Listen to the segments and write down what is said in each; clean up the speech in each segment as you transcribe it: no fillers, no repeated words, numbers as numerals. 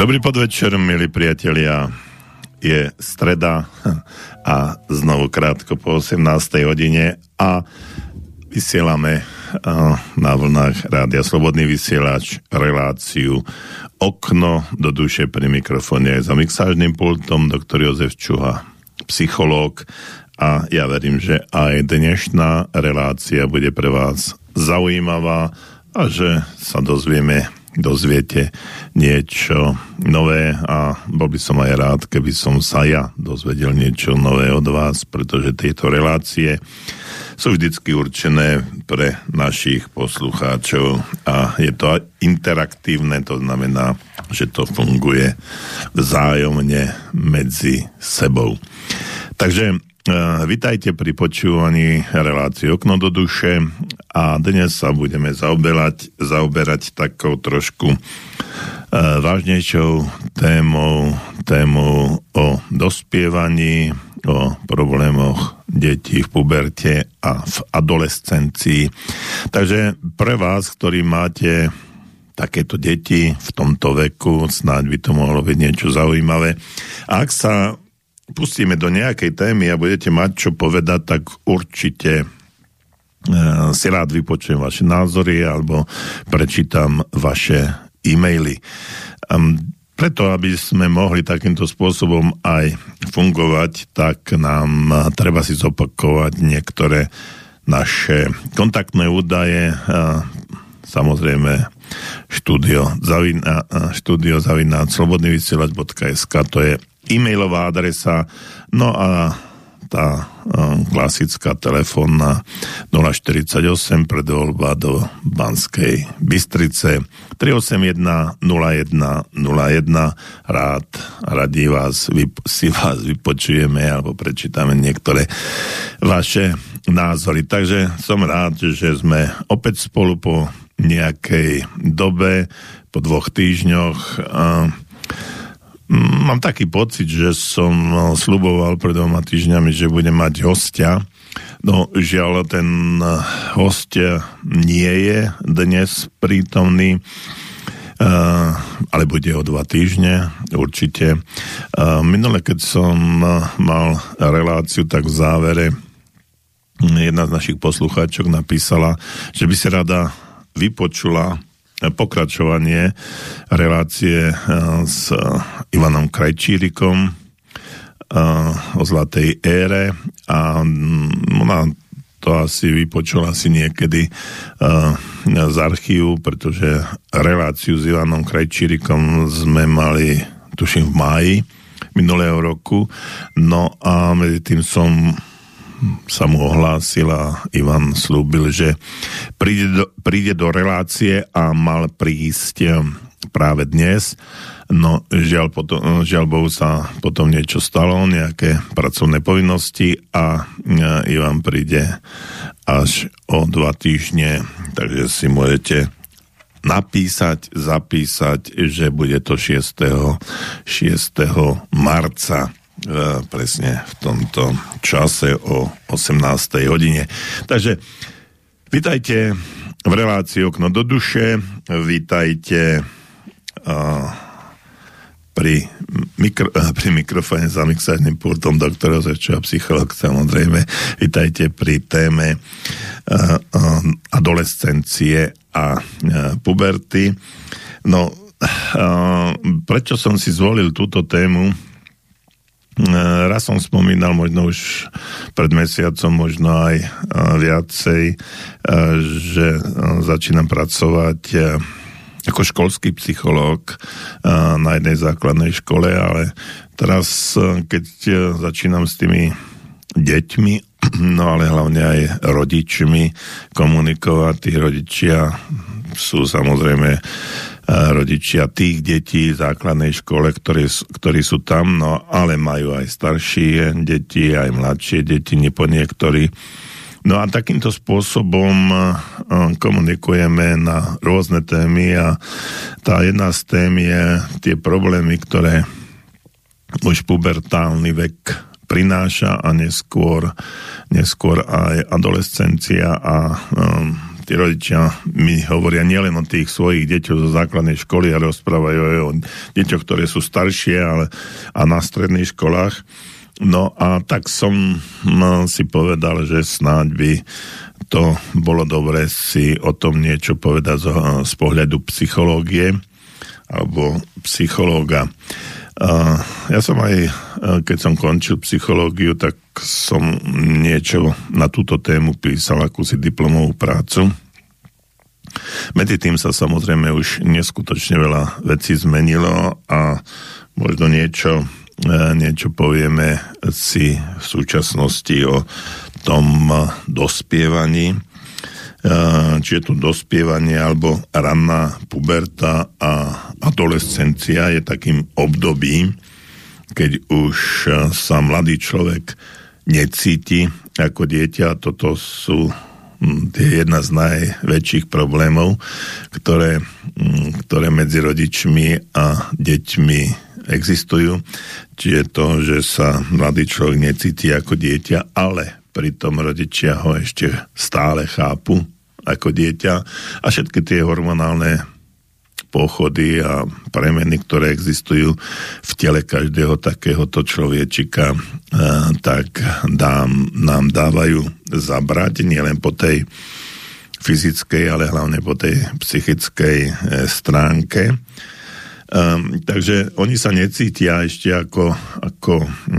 Dobrý podvečer, milí priatelia. Je streda a znovu krátko po 18. hodine a vysielame na vlnách Rádia Slobodný vysielač reláciu Okno do duše, pri mikrofóne za mixážnym pultom doktor Jozef Čuha, psychológ, a ja verím, že aj dnešná relácia bude pre vás zaujímavá a že sa dozviete niečo nové a bol by som aj rád, keby som sa ja dozvedel niečo nové od vás, pretože tieto relácie sú vždycky určené pre našich poslucháčov a je to interaktívne, to znamená, že to funguje vzájomne medzi sebou. Takže vitajte pri počúvaní relácie Okno do duše a dnes sa budeme zaoberať takou trošku vážnejšou témou o dospievaní, o problémoch detí v puberte a v adolescencii. Takže pre vás, ktorí máte takéto deti v tomto veku, snáď by to mohlo byť niečo zaujímavé. A ak sa pustíme do nejakej témy a budete mať čo povedať, tak určite si rád vypočujem vaše názory alebo prečítam vaše e-maily. Preto, aby sme mohli takýmto spôsobom aj fungovať, tak nám treba si zopakovať niektoré naše kontaktné údaje. Samozrejme studio@slobodnyvysielac.sk, to je e-mailová adresa, no a tá klasická telefónna 048 predvoľba do Banskej Bystrice 381 0101. Radí si vás vypočujeme alebo prečítame niektoré vaše názory. Takže som rád, že sme opäť spolu po nejakej dobe, po 2 týždňoch. Mám taký pocit, že som sľuboval pred 2 týždňami, že budem mať hostia. No žiaľ, ten host nie je dnes prítomný, ale bude o 2 týždne určite. Minule, keď som mal reláciu, tak v závere jedna z našich poslucháčok napísala, že by si rada vypočula pokračovanie relácie s Ivanom Krajčírikom o zlatej ére a ona to asi vypočula niekedy z archívu, pretože reláciu s Ivanom Krajčírikom sme mali, tuším, v máji minulého roku, no a medzi tým sa mu ohlásil a Ivan slúbil, že príde do relácie a mal prísť práve dnes. No žiaľ Bohu sa potom niečo stalo, nejaké pracovné povinnosti a Ivan príde až o 2 týždne, takže si môžete zapísať, že bude to 6. marca presne v tomto čase o 18. hodine. Takže vítajte v relácii Okno do duše, vítajte pri mikrofóne za mixážnym pultom doktor Jozef Čuha, psychológ, samozrejme. Vítajte pri téme adolescencie a puberty. No, prečo som si zvolil túto tému? Raz som spomínal, možno už pred mesiacom, možno aj viacej, že začínam pracovať ako školský psychológ na jednej základnej škole, ale teraz, keď začínam s tými deťmi, no ale hlavne aj rodičmi komunikovať, tí rodičia sú samozrejme rodičia tých detí v základnej škole, ktorí sú tam, no ale majú aj staršie deti, aj mladšie deti, po niektorí. No a takýmto spôsobom komunikujeme na rôzne témy a tá jedna z tém je tie problémy, ktoré už pubertálny vek prináša a neskôr aj adolescencia a tí rodičia mi hovoria nielen o tých svojich deťoch zo základnej školy, ale rozprávajú aj o deťoch, ktoré sú staršie a na stredných školách. No a tak som si povedal, že snáď by to bolo dobre si o tom niečo povedať z pohľadu psychológie alebo psychológa. Ja som aj, keď som končil psychológiu, tak som niečo na túto tému písal, akúsi diplomovú prácu. Medzi tým sa samozrejme už neskutočne veľa vecí zmenilo a možno niečo povieme si v súčasnosti o tom dospievaní, či je to dospievanie alebo ranná puberta a adolescencia je takým obdobím, keď už sa mladý človek necíti ako dieťa. Toto sú jedna z najväčších problémov, ktoré medzi rodičmi a deťmi existujú. Čiže to, že sa mladý človek necíti ako dieťa, ale pritom rodičia ho ešte stále chápu ako dieťa a všetky tie hormonálne pochody a premeny, ktoré existujú v tele každého takéhoto človečika, tak nám dávajú zabrať nielen po tej fyzickej, ale hlavne po tej psychickej stránke. Takže oni sa necítia ešte ako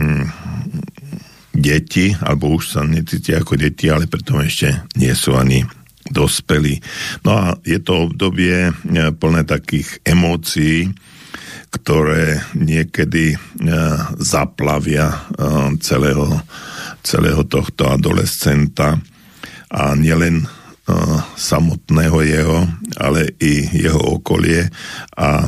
deti, alebo už sa necítia ako deti, ale pritom ešte nie sú ani dospelí. No a je to obdobie plné takých emócií, ktoré niekedy zaplavia celého tohto adolescenta a nielen samotného jeho, ale i jeho okolie a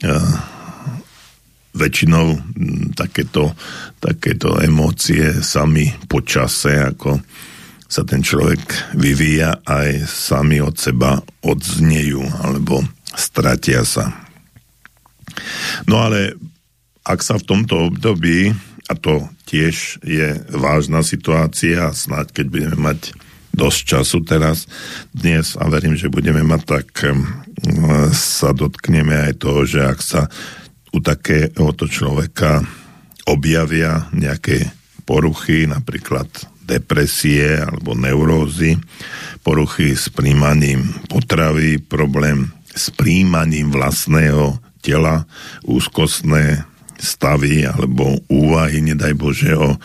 väčšinou takéto emócie sami po čase, ako sa ten človek vyvíja, aj sami od seba odznejú alebo stratia sa. No ale ak sa v tomto období, a to tiež je vážna situácia, snáď keď budeme mať dosť času teraz dnes a verím, že budeme mať, tak sa dotkneme aj toho, že ak sa u takéhoto človeka objavia nejaké poruchy, napríklad depresie alebo neurózy, poruchy s príjmaním potravy, problém s príjmaním vlastného tela, úzkostné stavy alebo úvahy, nedaj Bože, o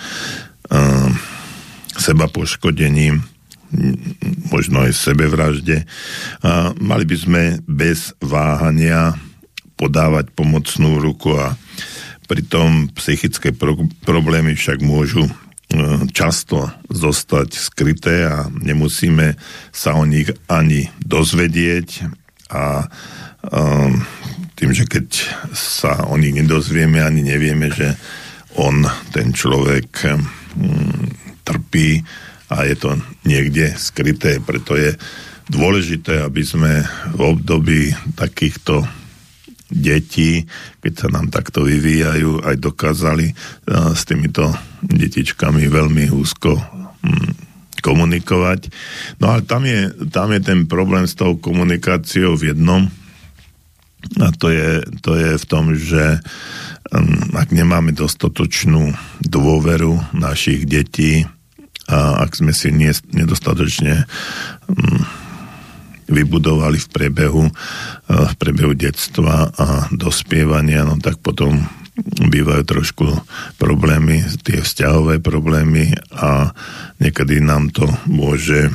seba poškodení, možno aj sebevražde. Mali by sme bez váhania podávať pomocnú ruku a pritom psychické problémy však môžu často zostať skryté a nemusíme sa o nich ani dozvedieť a tým, že keď sa o nich nedozvieme, ani nevieme, že ten človek trpí a je to niekde skryté. Preto je dôležité, aby sme v období takýchto detí, keď sa nám takto vyvíjajú, aj dokázali s týmito detičkami veľmi úzko komunikovať. No ale tam je ten problém s tou komunikáciou v jednom, a to je v tom, že ak nemáme dostatočnú dôveru našich detí a ak sme si nedostatočne vybudovali v priebehu detstva a dospievania, no tak potom bývajú trošku problémy, tie vzťahové problémy a niekedy nám to môže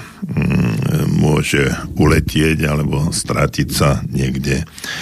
uletieť alebo stratiť sa niekde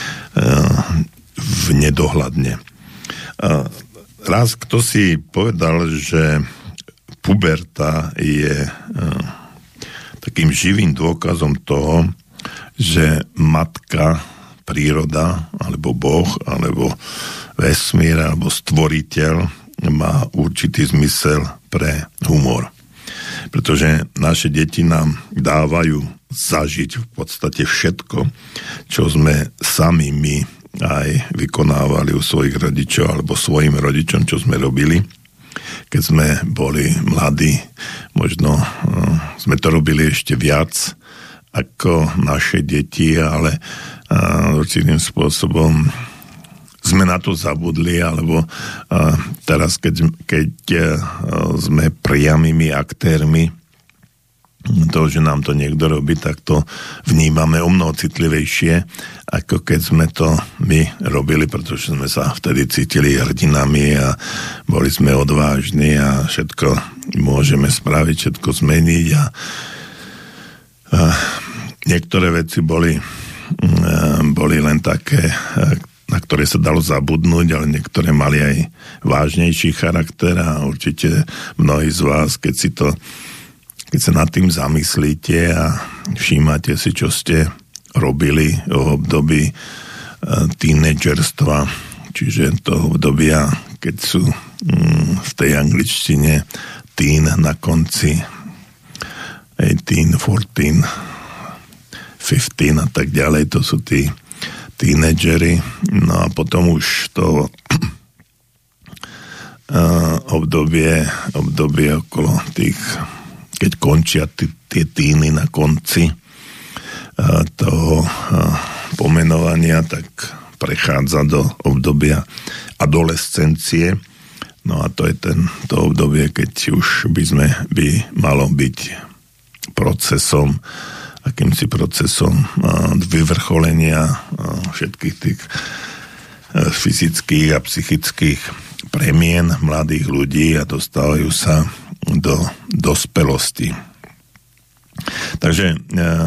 v nedohľadne. Raz kto si povedal, že puberta je takým živým dôkazom toho, že matka, príroda, alebo Boh, alebo vesmír, alebo stvoriteľ má určitý zmysel pre humor. Pretože naše deti nám dávajú zažiť v podstate všetko, čo sme sami my aj vykonávali u svojich rodičov, alebo svojim rodičom, čo sme robili, keď sme boli mladí. Možno sme to robili ešte viac ako naše deti, ale určitým spôsobom sme na to zabudli, alebo teraz, keď sme priamými aktérmi toho, že nám to niekto robí, tak to vnímame o mnoho citlivejšie, ako keď sme to my robili, pretože sme sa vtedy cítili hrdinami a boli sme odvážni a všetko môžeme spraviť, všetko zmeniť a niektoré veci boli len také, na ktoré sa dalo zabudnúť, ale niektoré mali aj vážnejší charakter a určite mnohí z vás, keď sa nad tým zamyslíte a všímate si, čo ste robili v období tínedžerstva, čiže toho obdobia, keď sú v tej angličtine teen na konci 18, 14, 15 a tak ďalej, to sú tí tínedžeri, no a potom už to obdobie okolo tých, keď končia tie týny na konci toho pomenovania, tak prechádza do obdobia adolescencie. No a to je to obdobie, keď už by malo byť akýmsi procesom vyvrcholenia všetkých tých fyzických a psychických premien mladých ľudí a dostávajú sa do dospelosti. Takže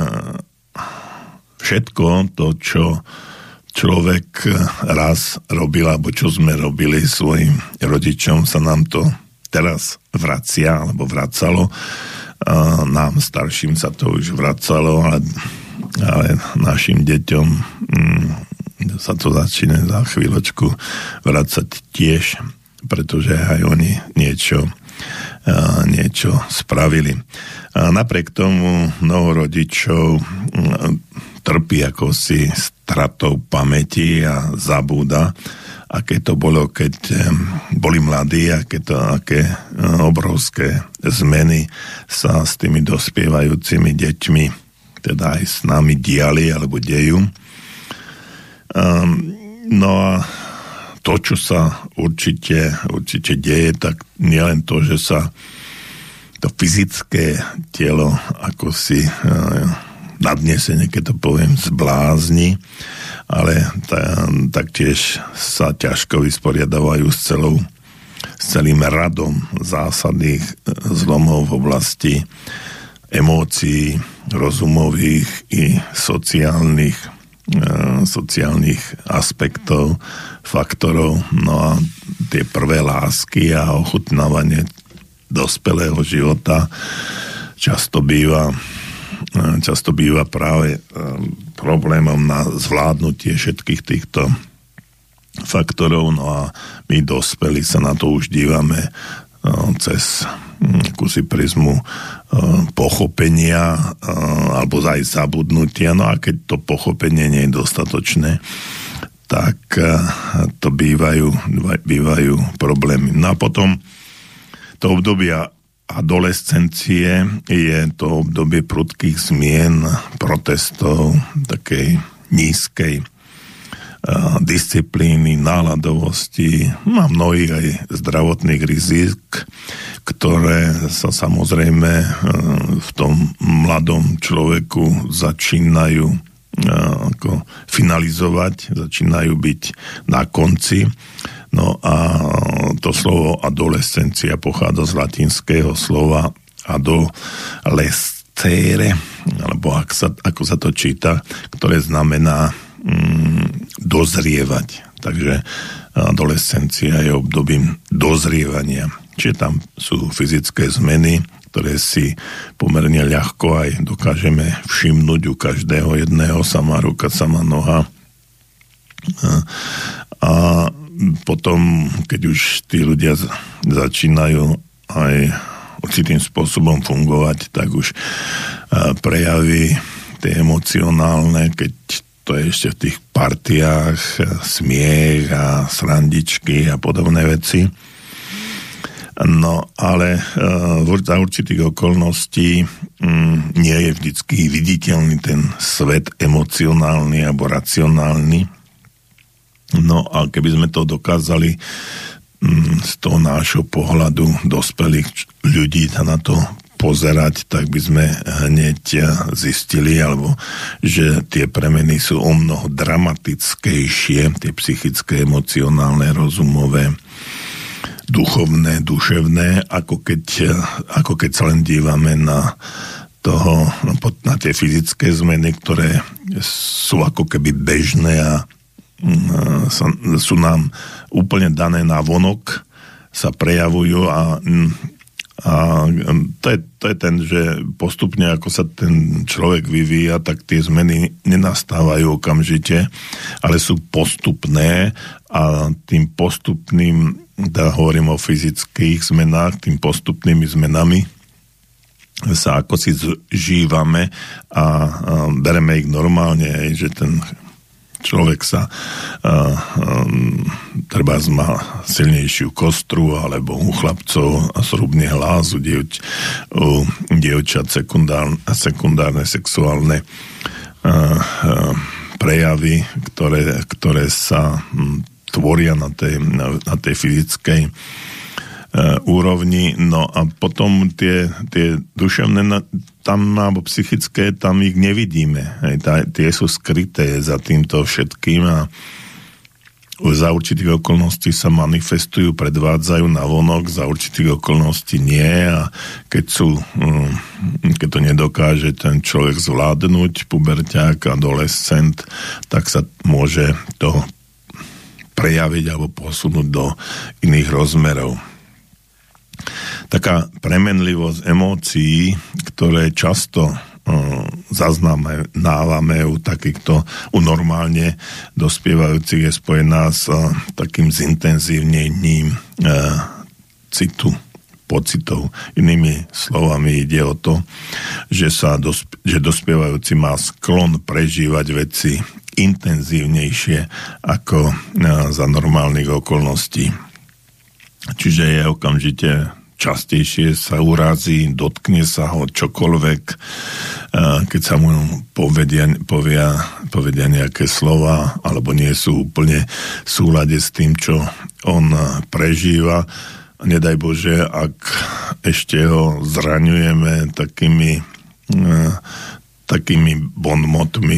všetko to, čo človek raz robil, alebo čo sme robili svojim rodičom, sa nám to teraz vracia, alebo vracalo. Nám starším sa to už vracalo, ale našim deťom sa to začína za chvíľočku vracať tiež, pretože aj oni niečo spravili. A napriek tomu mnoho rodičov trpí akosi stratou pamäti a zabúda, aké to bolo, keď boli mladí, aké obrovské zmeny sa s tými dospievajúcimi deťmi, teda aj s nami diali alebo dejú. No a to, čo sa určite deje, tak nielen to, že sa to fyzické telo ako si nadnesenie, keď to poviem, zblázni, ale taktiež sa ťažko vysporiadavajú s celým radom zásadných zlomov v oblasti emócií, rozumových i sociálnych aspektov, faktorov. No a tie prvé lásky a ochutnávanie dospelého života často býva práve problémom na zvládnutie všetkých týchto faktorov. No a my dospelí sa na to už dívame cez akúsi prizmu pochopenia alebo aj zabudnutia. No a keď to pochopenie nie je dostatočné, tak to bývajú problémy. No a potom to obdobia adolescencie je to obdobie prudkých zmien, protestov, takej nízkej disciplíny, náladovosti a mnohých aj zdravotných rizik, ktoré sa samozrejme v tom mladom človeku začínajú finalizovať, začínajú byť na konci. No a to slovo adolescencia pochádza z latinského slova adolescere, alebo ako sa to číta, ktoré znamená dozrievať. Takže adolescencia je obdobím dozrievania. Čiže tam sú fyzické zmeny, ktoré si pomerne ľahko aj dokážeme všimnúť u každého jedného, sama ruka, sama noha. A potom, keď už tí ľudia začínajú aj určitým spôsobom fungovať, tak už prejavy tie emocionálne, keď to je ešte v tých partiách, smiech a srandičky a podobné veci. No, ale za určitých okolností nie je vždycky viditeľný ten svet emocionálny alebo racionálny. No a keby sme to dokázali z toho nášho pohľadu dospelých ľudí na to pozerať, tak by sme hneď zistili, alebo že tie premeny sú o mnoho dramatickejšie, tie psychické, emocionálne, rozumové, duchovné, duševné, ako keď sa len dívame na tie fyzické zmeny, ktoré sú ako keby bežné a sú nám úplne dané na vonok, sa prejavujú a to je ten, že postupne ako sa ten človek vyvíja, tak tie zmeny nenastávajú okamžite, ale sú postupné a tým postupným, hovorím o fyzických zmenách, tým postupnými zmenami sa ako si žívame a bereme ich normálne, že ten človek sa treba má silnejšiu kostru, alebo u chlapcov zhrubne hlas, u dievčat sekundárne sexuálne prejavy, ktoré sa tvoria na tej fyzickej úrovni. No a potom tie duševné tam, alebo psychické, tam ich nevidíme. Tie sú skryté za týmto všetkým a za určitých okolností sa manifestujú, predvádzajú na vonok, za určitých okolností nie a keď to nedokáže ten človek zvládnuť, puberťák, adolescent, tak sa môže to prejaviť alebo posunúť do iných rozmerov. Taká premenlivosť emócií, ktoré často zaznamenávame u takýchto, u normálne dospievajúcich, je spojená s takým zintenzívnením citu, pocitov. Inými slovami ide o to, že dospievajúci má sklon prežívať veci intenzívnejšie ako za normálnych okolností. Čiže je okamžite častejšie sa urazí, dotkne sa ho čokoľvek, keď sa mu povedia nejaké slova, alebo nie sú úplne v súlade s tým, čo on prežíva. Nedaj Bože, ak ešte ho zraňujeme takými bonmotmi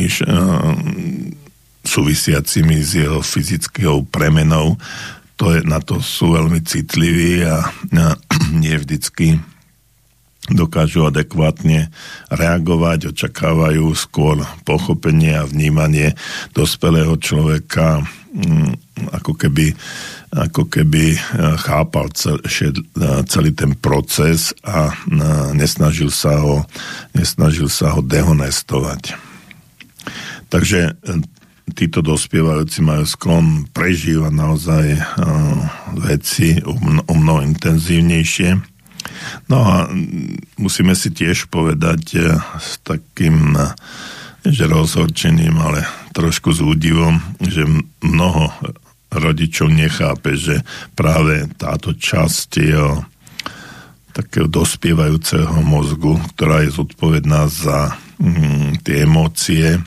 súvisiacimi s jeho fyzickou premenou, na to sú veľmi citliví a nie vždycky dokážu adekvátne reagovať, očakávajú skôr pochopenie a vnímanie dospelého človeka, ako keby chápal celý ten proces a nesnažil sa ho dehonestovať. Takže títo dospievajúci majú sklon prežívať naozaj veci o mnoho intenzívnejšie. No a musíme si tiež povedať s takým, že rozhorčením, ale trošku s údivom, že mnoho rodičov nechápe, že práve táto časť jeho takého dospievajúceho mozgu, ktorá je zodpovedná za tie emócie,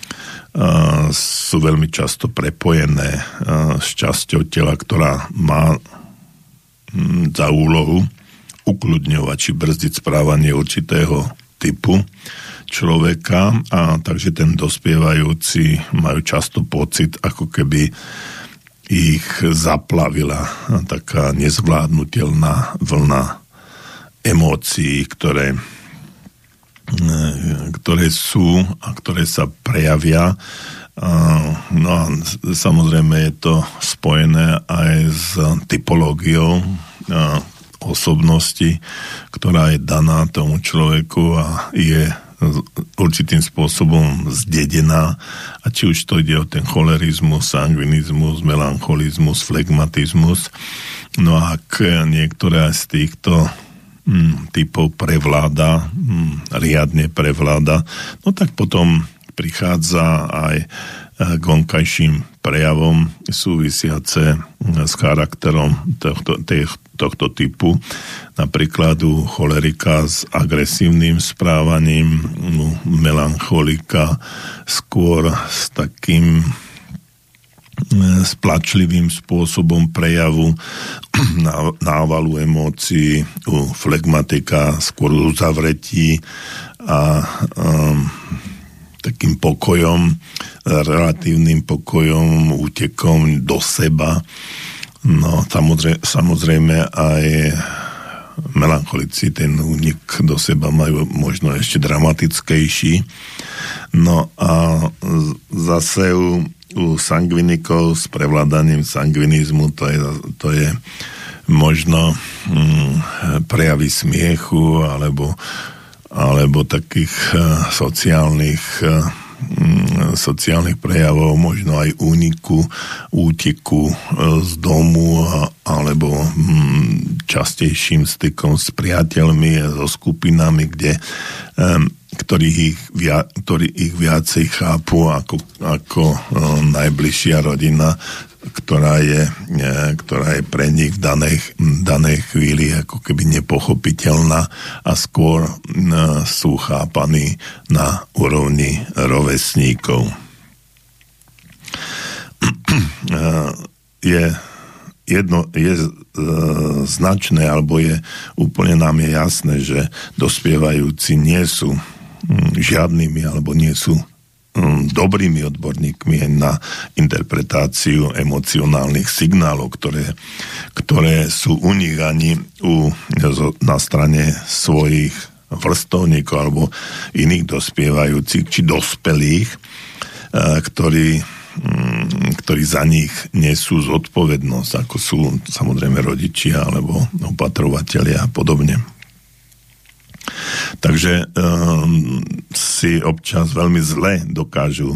sú veľmi často prepojené s časťou tela, ktorá má za úlohu ukľudňovať či brzdiť správanie určitého typu človeka, a takže ten dospievajúci majú často pocit, ako keby ich zaplavila taká nezvládnutelná vlna emócií, ktoré sú a ktoré sa prejavia. No a samozrejme je to spojené aj s typológiou osobnosti, ktorá je daná tomu človeku a je určitým spôsobom zdedená, a či už to ide o ten cholerizmus, sangvinizmus, melancholizmus, flegmatizmus. No a ak niektoré z týchto typov riadne prevláda, no tak potom prichádza aj k vonkajším prejavom súvisiace s charakterom tohto typu. Napríklad u cholerika s agresívnym správaním, u melancholika skôr s takým splačlivým spôsobom prejavu návalu emócií, u flegmatika skôr uzavretí a takým pokojom, relatívnym pokojom, útekom do seba. No, samozrejme aj melancholici ten únik do seba majú možno ešte dramatickejší. No a zase u sangvinikov s prevládaním sangvinizmu to je možno prejavy smiechu alebo takých sociálnych prejavov, možno aj úteku z domu alebo častejším stykom s priateľmi a so skupinami, ktorí ich viacej chápu ako najbližšia rodina, ktorá je pre nich v danej chvíli ako keby nepochopiteľná a skôr sú chápaní na úrovni rovesníkov. Je značné, alebo úplne nám je jasné, že dospievajúci nie sú žiadnymi, alebo nie sú dobrými odborníkmi na interpretáciu emocionálnych signálov, ktoré sú u nich ani na strane svojich vrstovníkov alebo iných dospievajúcich či dospelých, ktorí za nich nesú zodpovednosť, ako sú samozrejme rodičia alebo opatrovatelia a podobne. Takže si občas veľmi zle dokážu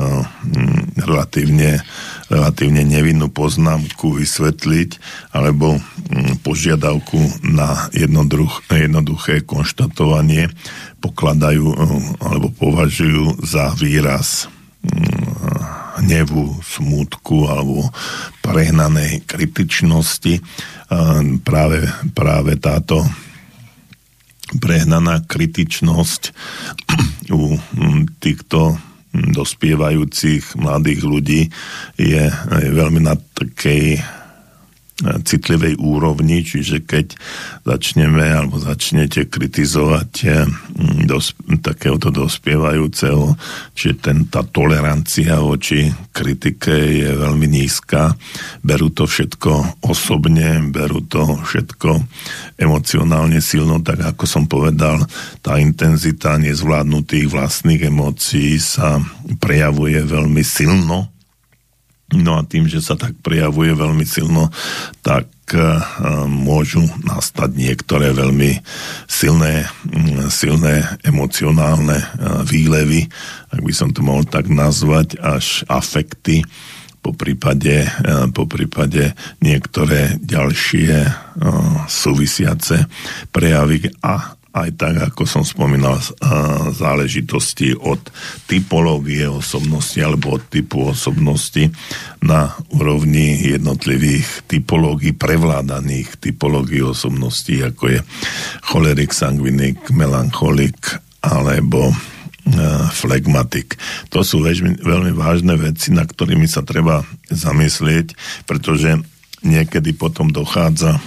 relatívne nevinnú poznámku vysvetliť alebo požiadavku na jednoduché konštatovanie pokladajú alebo považujú za výraz hnevu, smútku alebo prehnanej kritičnosti. Práve táto prehnaná kritičnosť u týchto dospievajúcich mladých ľudí je veľmi na takej citlivej úrovni, čiže keď začnete kritizovať takéhoto dospievajúceho, čiže tá tolerancia voči kritike je veľmi nízka, berú to všetko osobne, berú to všetko emocionálne silno, tak ako som povedal, tá intenzita nezvládnutých vlastných emócií sa prejavuje veľmi silno. No a tým, že sa tak prejavuje veľmi silno, tak môžu nastať niektoré veľmi silné emocionálne výlevy, ak by som to mohol tak nazvať, až afekty, po prípade niektoré ďalšie súvisiace prejavy a aj tak, ako som spomínal, záležitosti od typológie osobnosti alebo od typu osobnosti na úrovni jednotlivých typológií, prevládaných typológií osobností, ako je cholerik, sangvinik, melancholik alebo flegmatik. To sú veľmi vážne veci, na ktorými sa treba zamyslieť, pretože niekedy potom dochádza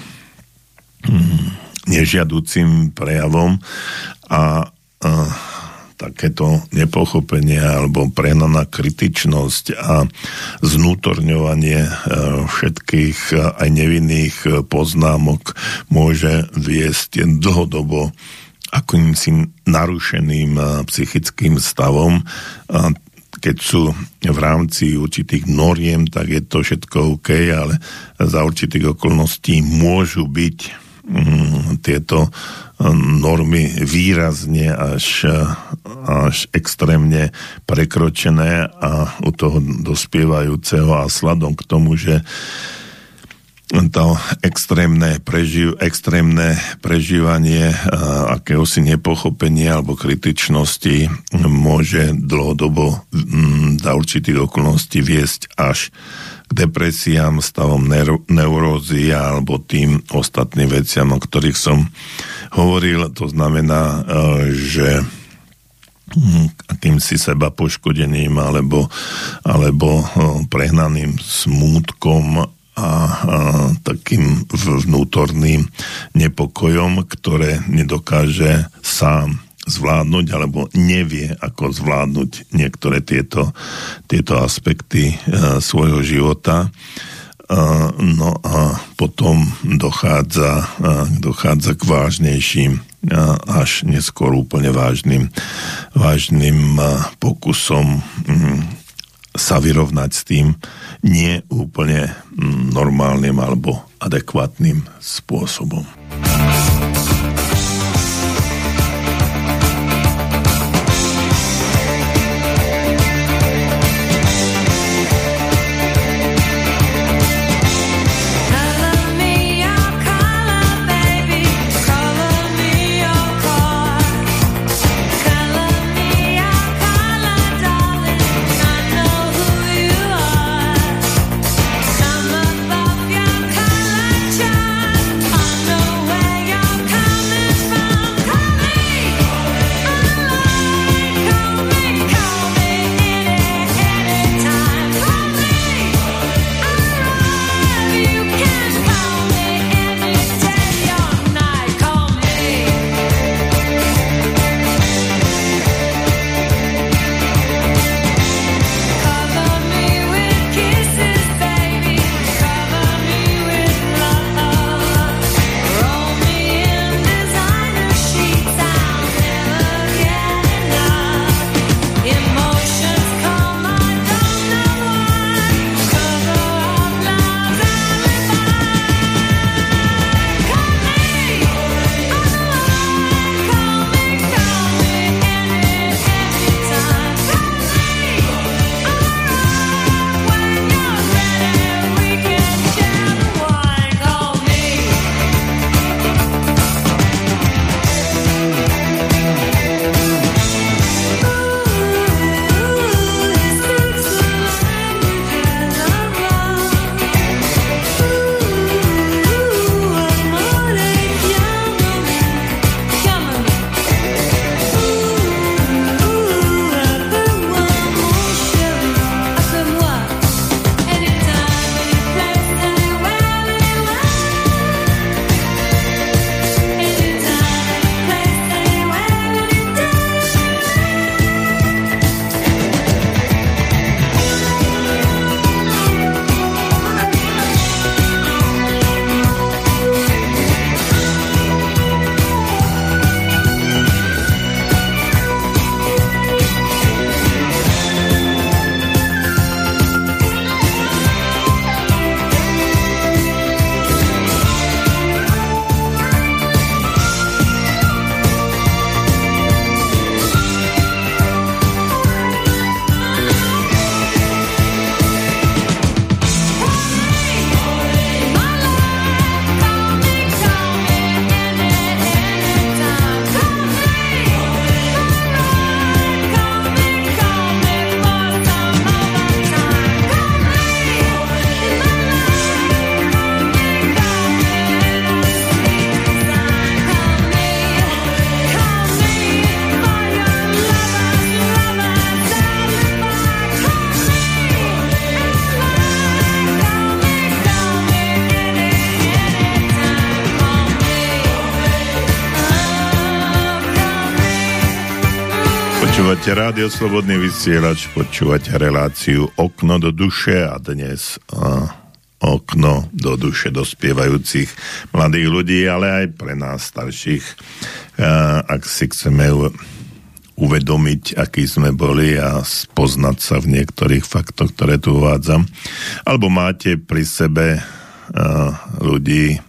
nežiaducim prejavom a takéto nepochopenie alebo prehnaná kritičnosť a znútorňovanie všetkých aj nevinných poznámok môže viesť dlhodobo akýmsi narušeným psychickým stavom. Keď sú v rámci určitých noriem, tak je to všetko OK, ale za určitých okolností môžu byť tieto normy výrazne až extrémne prekročené a u toho dospievajúceho a sladom k tomu, že to extrémne prežívanie akéhosi nepochopenia alebo kritičnosti môže dlhodobo za určitých okolností viesť až k depresiám, stavom neurózy alebo tým ostatným veciam, o ktorých som hovoril. To znamená, že akýmsi seba poškodením alebo prehnaným smútkom a takým vnútorným nepokojom, ktoré nedokáže sám zvládnuť alebo nevie, ako zvládnuť niektoré tieto aspekty svojho života. No a potom dochádza k vážnejším až neskôr úplne vážnym pokusom sa vyrovnať s tým nie úplne normálnym alebo adekvátnym spôsobom. Počúvate Rádio Slobodný vysielač, počúvate reláciu Okno do duše a dnes okno do duše dospievajúcich mladých ľudí, ale aj pre nás starších, ak si chceme uvedomiť, aký sme boli a spoznať sa v niektorých faktoch, ktoré tu uvádzam. Alebo máte pri sebe ľudí,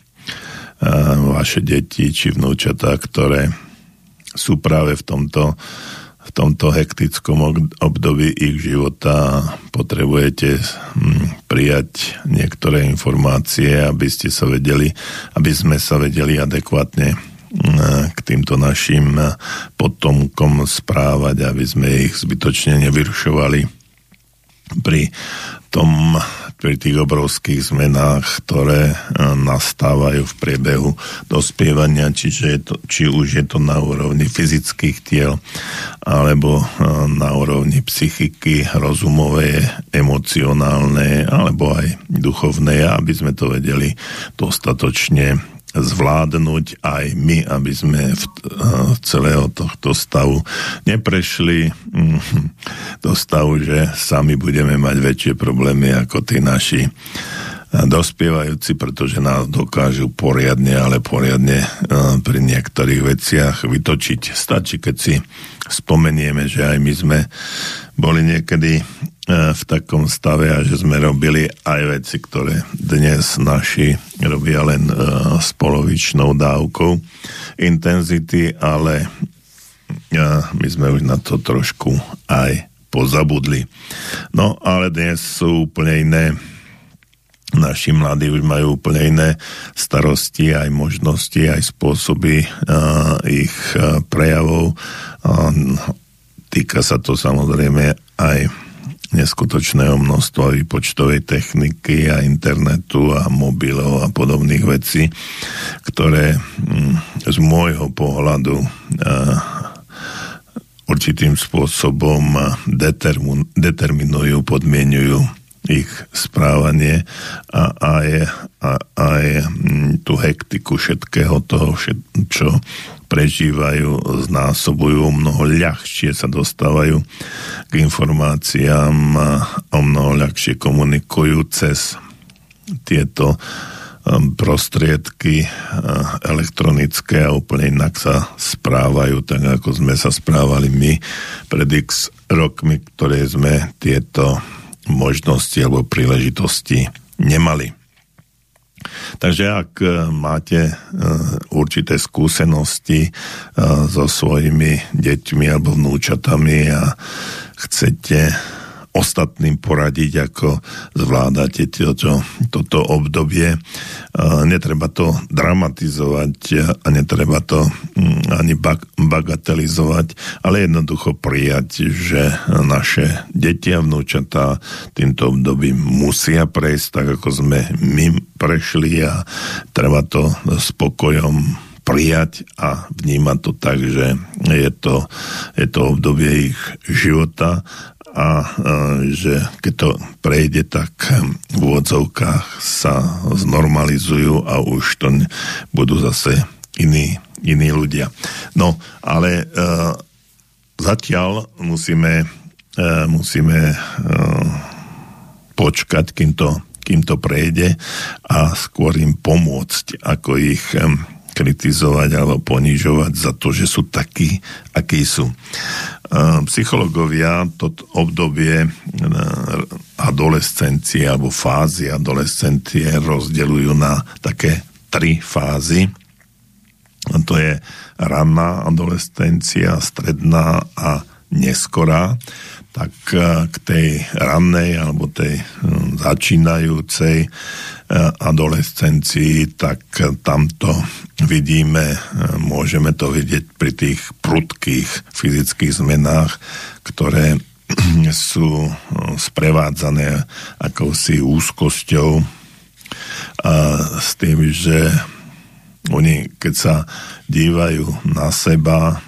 vaše deti či vnúčatá, ktoré sú práve v tomto v tomto hektickom období ich života potrebujete prijať niektoré informácie, aby sme sa vedeli adekvátne k týmto našim potomkom správať, aby sme ich zbytočne nevyrušovali pri tých obrovských zmenách, ktoré nastávajú v priebehu dospievania, či už je to na úrovni fyzických tiel, alebo na úrovni psychiky, rozumovej, emocionálnej, alebo aj duchovnej, aby sme to vedeli dostatočne zvládnuť aj my, aby sme v celého tohto stavu neprešli do stavu, že sami budeme mať väčšie problémy ako tí naši dospievajúci, pretože nás dokážu poriadne pri niektorých veciach vytočiť. Stačí, keď si spomenieme, že aj my sme boli niekedy v takom stave a že sme robili aj veci, ktoré dnes naši robia len s polovičnou dávkou intenzity, ale my sme už na to trošku aj pozabudli. No, ale dnes sú úplne iné. Naši mladí už majú úplne iné starosti, aj možnosti, aj spôsoby ich prejavov. Týka sa to samozrejme aj neskutočného množstva výpočtovej techniky a internetu a mobilov a podobných vecí, ktoré z môjho pohľadu určitým spôsobom determinujú, podmienujú ich správanie a aj tú hektiku všetkého toho, čo prežívajú, znásobujú, mnoho ľahšie sa dostávajú k informáciám a mnoho ľahšie komunikujú cez tieto prostriedky elektronické a úplne inak sa správajú, tak ako sme sa správali my pred x rokmi, ktoré sme tieto možnosti alebo príležitosti nemali. Takže ak máte určité skúsenosti so svojimi deťmi alebo vnúčatami a chcete ostatným poradiť, ako zvládate toto obdobie. Netreba to dramatizovať a netreba to ani bagatelizovať, ale jednoducho prijať, že naše deti a vnúčatá týmto obdobím musia prejsť tak, ako sme my prešli a treba to spokojom prijať a vnímať to tak, že je to obdobie ich života a že keď to prejde, tak v úvodzovkách sa znormalizujú a už to budú zase iní ľudia. No, ale zatiaľ musíme počkať, kým to prejde a skôr im pomôcť, ako ich kritizovať alebo ponižovať za to, že sú takí, akí sú. Psychológovia toto obdobie adolescencie alebo fázy adolescencie rozdeľujú na také 3 fázy. To je ranná adolescencia, stredná a neskorá. Tak k tej rannej alebo tej začínajúcej adolescencii, tak tamto môžeme to vidieť pri tých prudkých fyzických zmenách, ktoré sú sprevádzané akousi úzkosťou a s tým, že oni, keď sa dívajú na seba,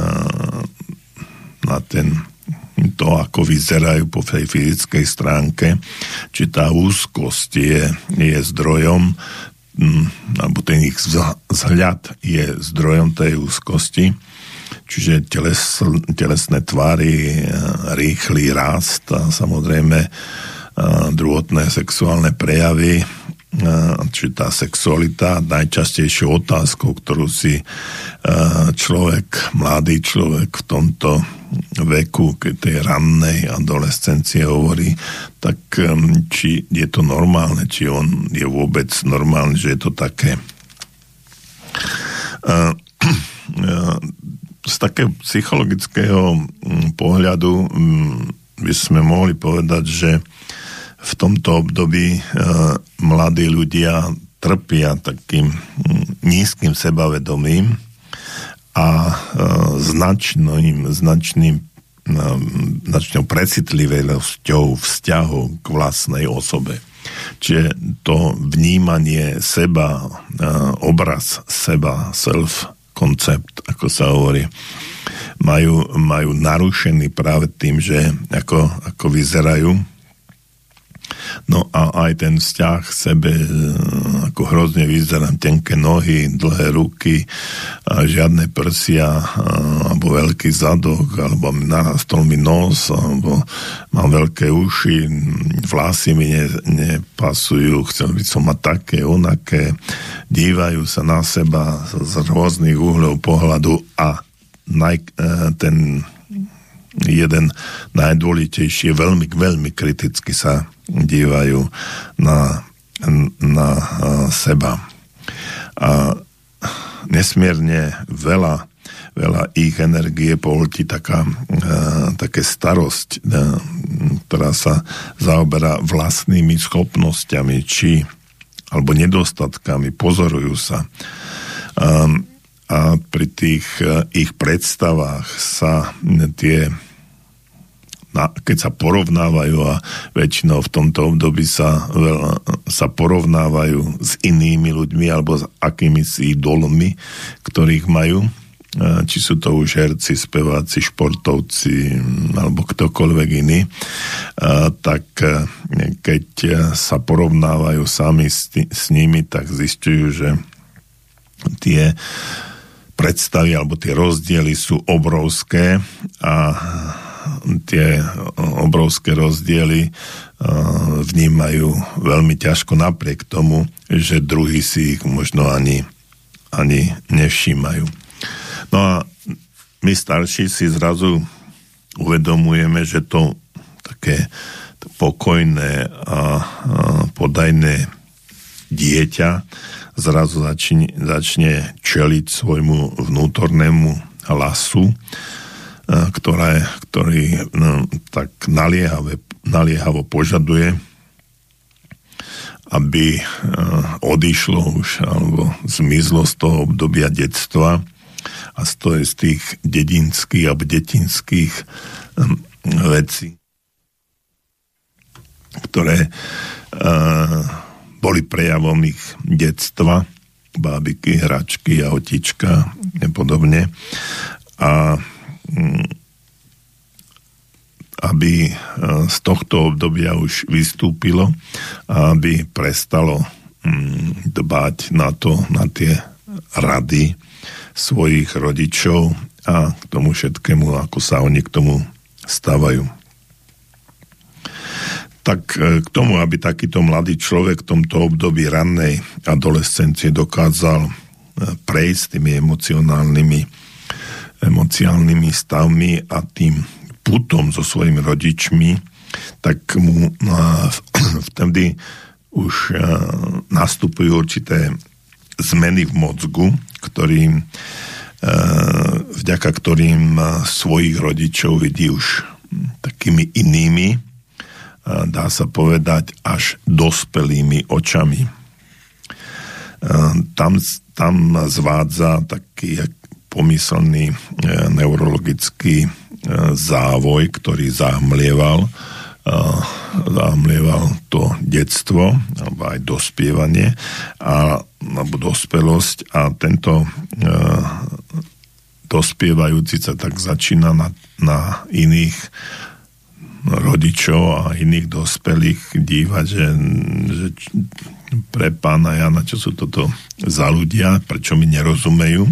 na to, ako vyzerajú po tej fyzickej stránke, či tá úzkosť je zdrojom, alebo ten ich vzhľad je zdrojom tej úzkosti, čiže telesné tvary, rýchly rast a samozrejme druhotné sexuálne prejavy, či tá sexualita, najčastejšou otázkou, ktorú si mladý človek v tomto veku, keď tej rannej adolescencie hovorí, tak či je to normálne, či on je vôbec normálne, že je to také. z takého psychologického pohľadu by sme mohli povedať, že v tomto období mladí ľudia trpia takým nízkym sebavedomím a značnou precitlivosťou vzťahu k vlastnej osobe. Čiže to vnímanie seba, obraz seba, self-koncept, ako sa hovorí, majú narušený práve tým, že ako vyzerajú. No a aj ten vzťah k sebe, ako hrozne vyzerám, tenké nohy, dlhé ruky, a žiadne prsia, alebo veľký zadok, alebo narastol mi nos, alebo mám veľké uši, vlasy mi nepasujú, chcel by som mať také, onaké, dívajú sa na seba z rôznych uhľov pohľadu a ten jeden najdôležitejší, veľmi kriticky sa dívajú na seba. A nesmierne veľa ich energie pohltí také starosť, ktorá sa zaoberá vlastnými schopnosťami alebo nedostatkami, pozorujú sa. A pri tých ich predstavách sa keď sa porovnávajú, a väčšinou v tomto období sa porovnávajú s inými ľuďmi alebo s akýmisi idolmi, ktorých majú, či sú to už herci, speváci, športovci alebo ktokoľvek iný, tak keď sa porovnávajú sami s nimi, tak zisťujú, že tie predstavy alebo tie rozdiely sú obrovské a tie obrovské rozdiely vnímajú veľmi ťažko napriek tomu, že druhí si ich možno ani nevšímajú. No a my starší si zrazu uvedomujeme, že to také pokojné a podajné dieťa zrazu začne čeliť svojmu vnútornému hlasu, ktorý tak naliehavo požaduje, aby odišlo už alebo zmizlo z toho obdobia detstva a z tých dedinských alebo detinských vecí, ktoré boli prejavom ich detstva, bábiky, hračky, autička a podobne. A aby z tohto obdobia už vystúpilo a aby prestalo dbať na tie rady svojich rodičov a k tomu všetkému, ako sa oni k tomu stávajú. Tak k tomu, aby takýto mladý človek v tomto období rannej adolescencie dokázal prejsť tými emociálnymi stavmi a tým putom so svojimi rodičmi, tak mu vtedy už nastupujú určité zmeny v mozgu, vďaka ktorým svojich rodičov vidí už takými inými, dá sa povedať až dospelými očami. Tam zvádza taký pomyselný neurologický závoj, ktorý zahmlieval to detstvo alebo aj dospievanie alebo dospelosť, a tento dospievajúci sa tak začína na iných rodičov a iných dospelých dívať, že pre pána Jana, čo sú toto za ľudia, prečo mi nerozumejú.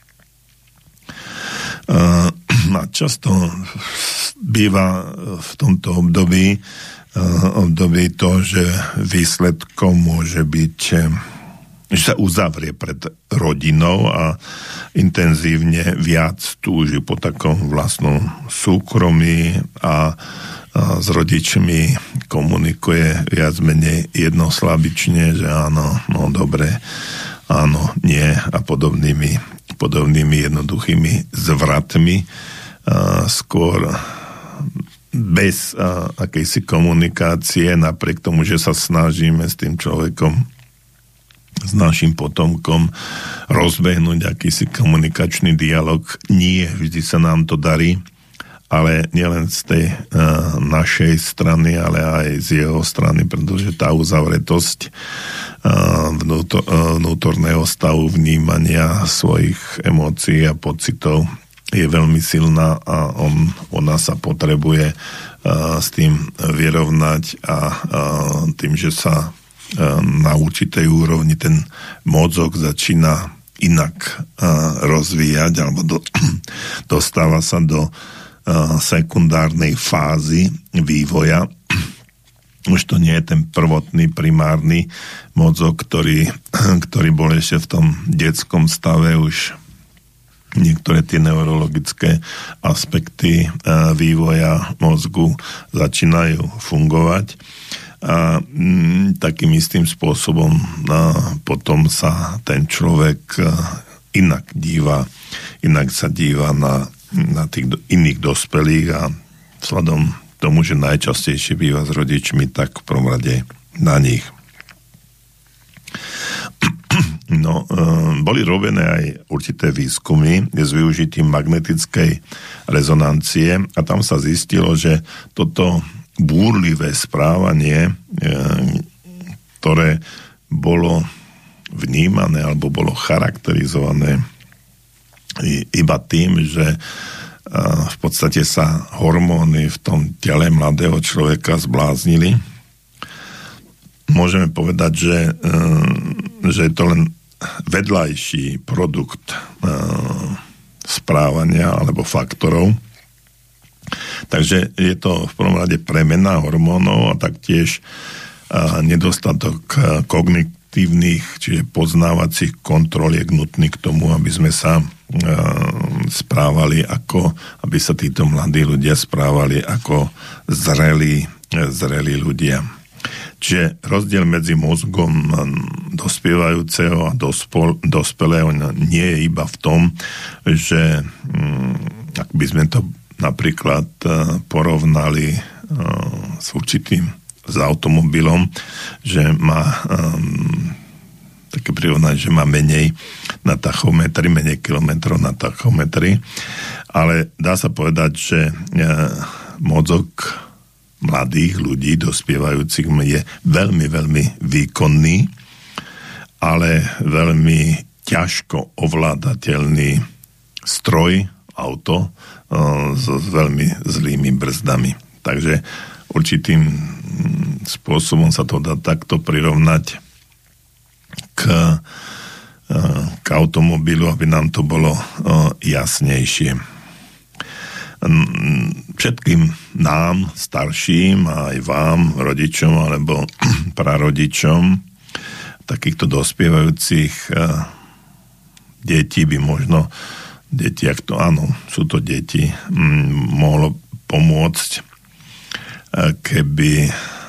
A často býva v tomto období to, že výsledkom môže byť, že sa uzavrie pred rodinou a intenzívne viac túži po takom vlastnom súkromí a s rodičmi komunikuje viac menej jednoslabične, že áno, no dobre, áno, nie a podobnými podobnými jednoduchými zvratmi, skôr bez akejsi komunikácie, napriek tomu, že sa snažíme s tým človekom, s našim potomkom rozbehnúť akýsi komunikačný dialog. Nie vždy sa nám to darí, ale nielen z tej našej strany, ale aj z jeho strany, pretože tá uzavretosť vnútorného stavu vnímania svojich emócií a pocitov je veľmi silná a ona sa potrebuje s tým vyrovnať a tým, že sa na určitej úrovni ten mozog začína inak rozvíjať alebo dostáva sa do sekundárnej fázy vývoja. Už to nie je ten prvotný, primárny mozog, ktorý bol ešte v tom detskom stave. Už niektoré tie neurologické aspekty vývoja mozgu začínajú fungovať a takým istým spôsobom potom sa ten človek inak sa díva na tých iných dospelých a vzhľadom tomu, že najčastejšie býva s rodičmi, tak v prvom rade na nich. No, boli robené aj určité výskumy s využitím magnetickej rezonancie a tam sa zistilo, že toto búrlivé správanie, ktoré bolo vnímané alebo bolo charakterizované iba tým, že v podstate sa hormóny v tom tele mladého človeka zbláznili. Môžeme povedať, že je to len vedľajší produkt správania alebo faktorov. Takže je to v prvom rade premena hormónov a taktiež nedostatok kognitívnych, čiže poznávacích kontrol je nutný k tomu, aby sme sa správali aby sa títo mladí ľudia správali ako zrelí ľudia. Čiže rozdiel medzi mozgom dospievajúceho a dospelého nie je iba v tom, že ak by sme to napríklad porovnali s automobilom, že má také prirovnanie, že má menej na tachometri, menej kilometrov na tachometri, ale dá sa povedať, že mozog mladých ľudí, dospievajúcich, je veľmi, veľmi výkonný, ale veľmi ťažko ovládateľný stroj, auto s veľmi zlými brzdami. Takže určitým spôsobom sa to dá takto prirovnať k automobilu, aby nám to bolo jasnejšie. Všetkým nám, starším, a aj vám, rodičom alebo prarodičom takýchto dospievajúcich detí by možno áno, sú to deti, mohlo pomôcť, keby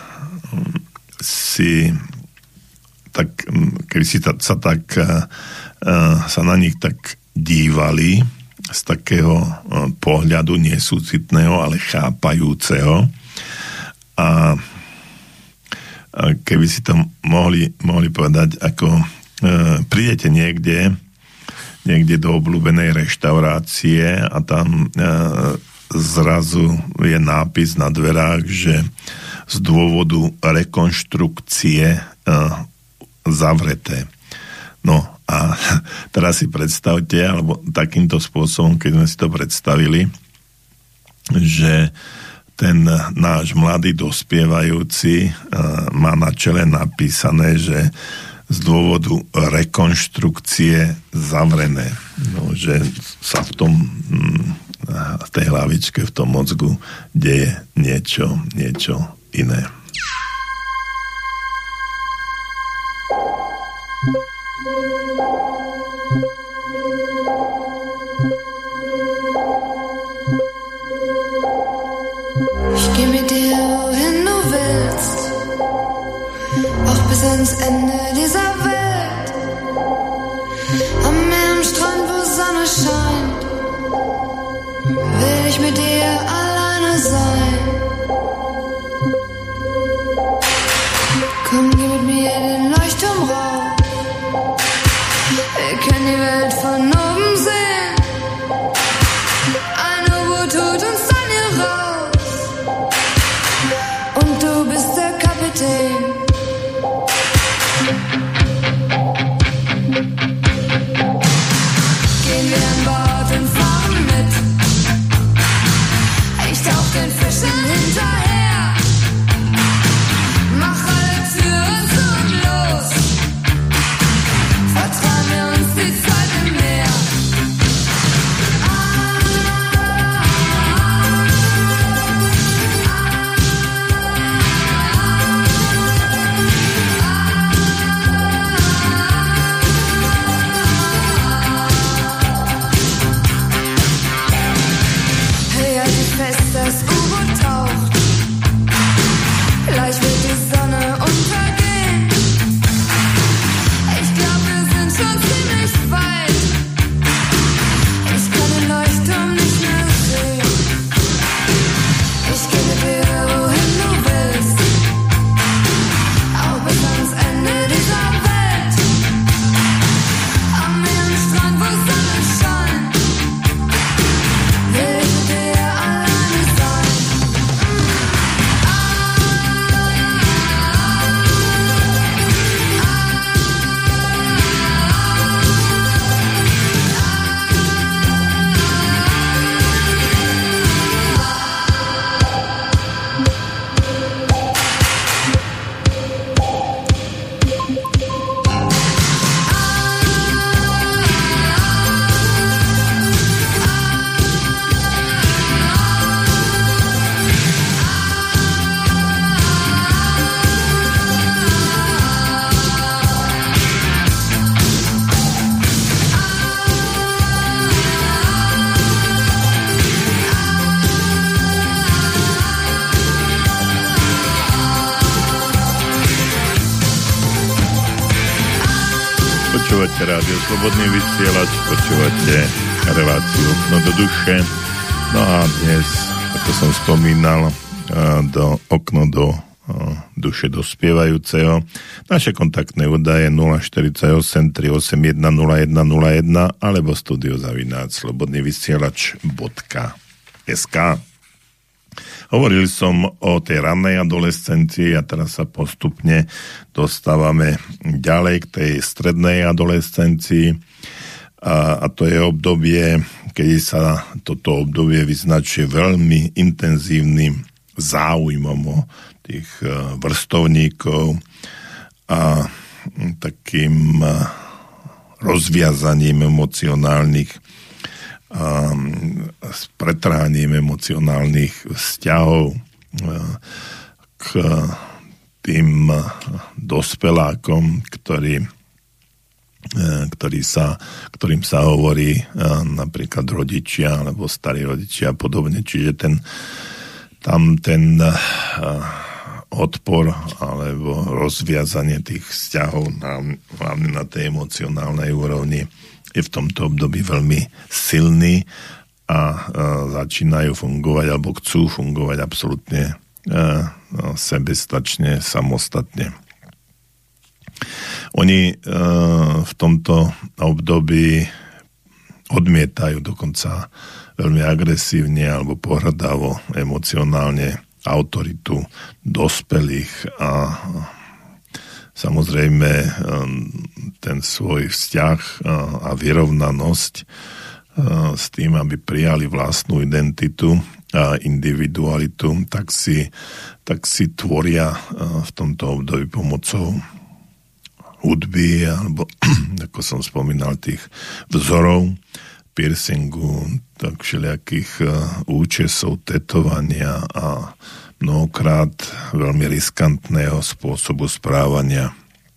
sa na nich tak dívali z takého pohľadu nesúcitného, ale chápajúceho. A keby si to mohli povedať, ako prídete niekde do obľúbenej reštaurácie a tam zrazu je nápis na dverách, že z dôvodu rekonštrukcie zavreté. No a teraz si predstavte, alebo takýmto spôsobom, keď sme si to predstavili, že ten náš mladý dospievajúci má na čele napísané, že z dôvodu rekonštrukcie zavrené. No, že sa v tej hlavičke, v tom mozgu deje niečo iné. Ich geh mit dir, wohin du willst, auch bis ans Ende dieser Welt. Am Meer, am Strand, wo Sonne ich mit dir alleine sein. Komm, geh mit mir den Leuchtturm rauf. Wir können die Welt von oben sehen. Ein U-Boot holt uns dann hier raus. Und du bist der Kapitän. Gehen wir an Bord und fahren mit. Ich tauch den Fischen hinterher. Mach alle Türen zu und los. Vertrauen wir uns die Zeit im Meer. Hey, halt dich fest, das U-Boot taucht. Gleich wird die Sonne untergehen. Ich glaub, wir sind schon ziemlich weit. Ich kann den Leuchtturm nicht mehr sehen. Ich geh mit dir, wohin du willst. Auch bis ans Ende dieser Welt. Am Meer, am Strand, wo Sonne scheint. Will ich mit dir alleine sein. Počúvate rádio Slobodný vysielač, počúvate reláciu Okno do duše. No a dnes, ako som spomínal, do Okno do duše dospievajúceho. Naše kontaktné údaje 048 381 0101 alebo studiozavináč slobodnyvysielac.sk. Hovorili som o tej rannej adolescencii a teraz sa postupne dostávame ďalej k tej strednej adolescencii a to je obdobie, kedy sa toto obdobie vyznačuje veľmi intenzívnym záujmom o tých vrstovníkov a takým rozviazaním emocionálnych s pretráním emocionálnych vzťahov k tým dospelákom, ktorým sa hovorí napríklad rodičia alebo starí rodičia a podobne. Čiže tam ten odpor alebo rozviazanie tých vzťahov hlavne na tej emocionálnej úrovni je v tomto období veľmi silný a začínajú fungovať alebo chcú fungovať absolútne sebestačne, samostatne. Oni v tomto období odmietajú dokonca veľmi agresívne alebo pohrdavo emocionálne autoritu dospelých a samozrejme ten svoj vzťah a vyrovnanosť s tým, aby prijali vlastnú identitu a individualitu, tak si tvoria v tomto období pomocou hudby alebo, ako som spomínal, tých vzorov, piercingu, tak všelijakých účesov, tetovania a mnohokrát veľmi riskantného spôsobu správania.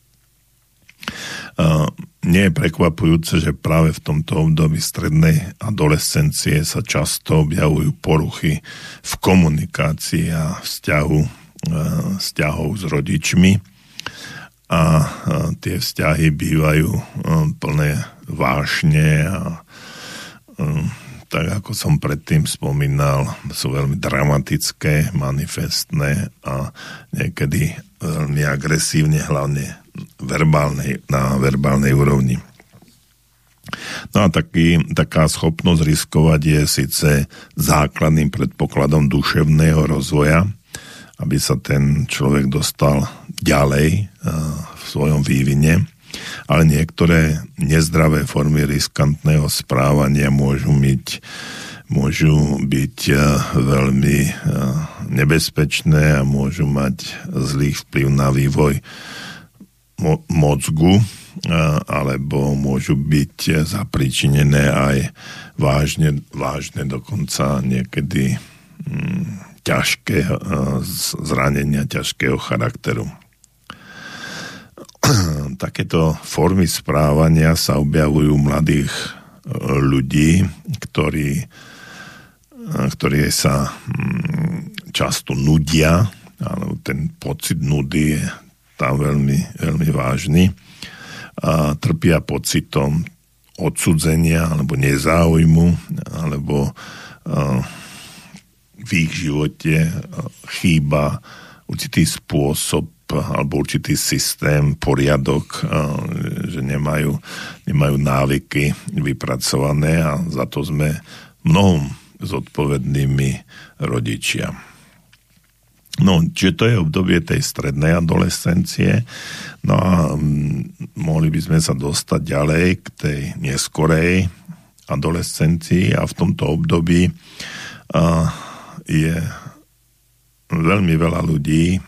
Nie je prekvapujúce, že práve v tomto období strednej adolescencie sa často objavujú poruchy v komunikácii a vzťahov s rodičmi a tie vzťahy bývajú plné vášne a tak ako som predtým spomínal, sú veľmi dramatické, manifestné a niekedy veľmi agresívne, hlavne na verbálnej úrovni. No a taká schopnosť riskovať je síce základným predpokladom duševného rozvoja, aby sa ten človek dostal ďalej v svojom vývine, ale niektoré nezdravé formy riskantného správania môžu byť veľmi nebezpečné a môžu mať zlý vplyv na vývoj mozgu, alebo môžu byť zapričinené aj vážne dokonca niekedy ťažké zranenia ťažkého charakteru. Takéto formy správania sa objavujú u mladých ľudí, ktorí sa často nudia, alebo ten pocit nudy je tam veľmi, veľmi vážny. A trpia pocitom odsudzenia alebo nezáujmu, alebo v ich živote chýba určitý spôsob alebo určitý systém, poriadok, že nemajú návyky vypracované a za to sme mnohom zodpovednými rodičia. No, čiže to je obdobie tej strednej adolescencie, no a mohli by sme sa dostať ďalej k tej neskorej adolescencii a v tomto období je veľmi veľa ľudí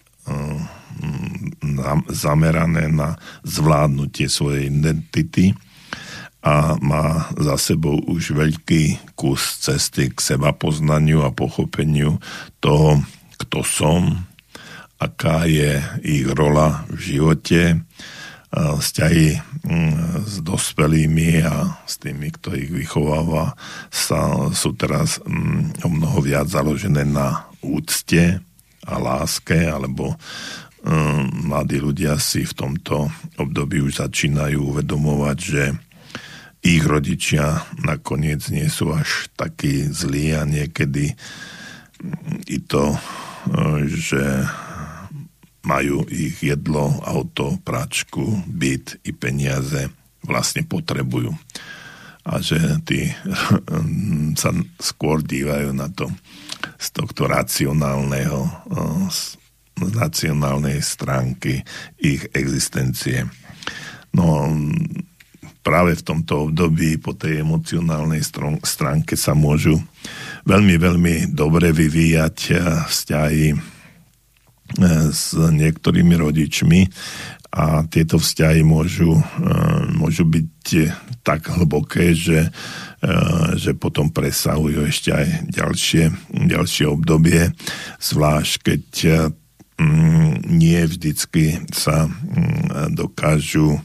zamerané na zvládnutie svojej identity a má za sebou už veľký kus cesty k sebapoznaniu a pochopeniu toho, kto som, aká je ich rola v živote, vzťahy s dospelými a s tými, kto ich vychováva, sú teraz o mnoho viac založené na úcte a láske, alebo mladí ľudia si v tomto období už začínajú uvedomovať, že ich rodičia nakoniec nie sú až takí zlí a niekedy i to, že majú ich jedlo, auto, práčku, byt i peniaze vlastne potrebujú. A že tí sa skôr dívajú na to z tohto racionálnej stránky ich existencie. No práve v tomto období po tej emocionálnej stránke sa môžu veľmi, veľmi dobre vyvíjať vzťahy s niektorými rodičmi a tieto vzťahy môžu byť tak hlboké, že potom presahujú ešte aj ďalšie obdobie, zvlášť keď nie vždycky sa dokážu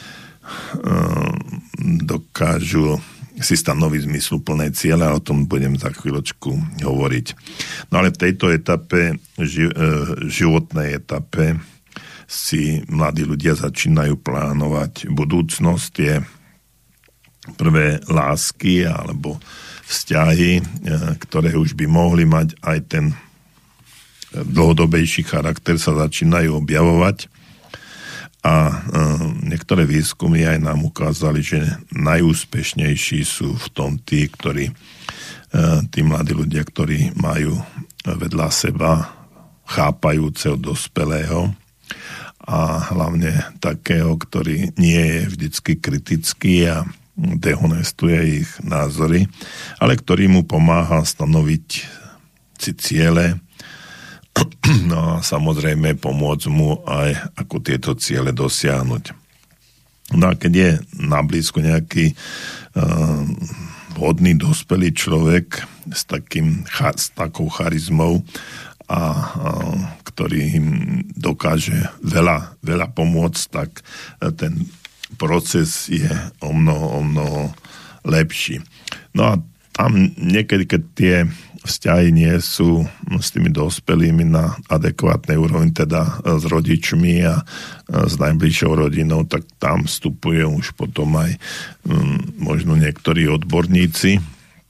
si stanoviť zmysluplné ciele, a o tom budem za chvíľočku hovoriť. No ale v tejto etape, životnej etape, si mladí ľudia začínajú plánovať budúcnosť, tie prvé lásky alebo vzťahy, ktoré už by mohli mať aj ten dlhodobejší charakter, sa začínajú objavovať. A niektoré výskumy aj nám ukázali, že najúspešnejší sú v tom tí mladí ľudia, ktorí majú vedľa seba chápajúceho dospelého a hlavne takého, ktorý nie je vždycky kritický a dehonestuje ich názory, ale ktorý mu pomáha stanoviť si ciele, no a samozrejme pomôcť mu aj ako tieto ciele dosiahnuť. No a keď je nablízko nejaký hodný dospelý človek s takou charizmou a ktorý im dokáže veľa pomôcť, tak ten proces je o mnoho lepší. No a tam niekedy, keď tie vzťahy nie sú s tými dospelými na adekvátnej úrovni, teda s rodičmi a s najbližšou rodinou, tak tam vstupuje už potom aj možno niektorí odborníci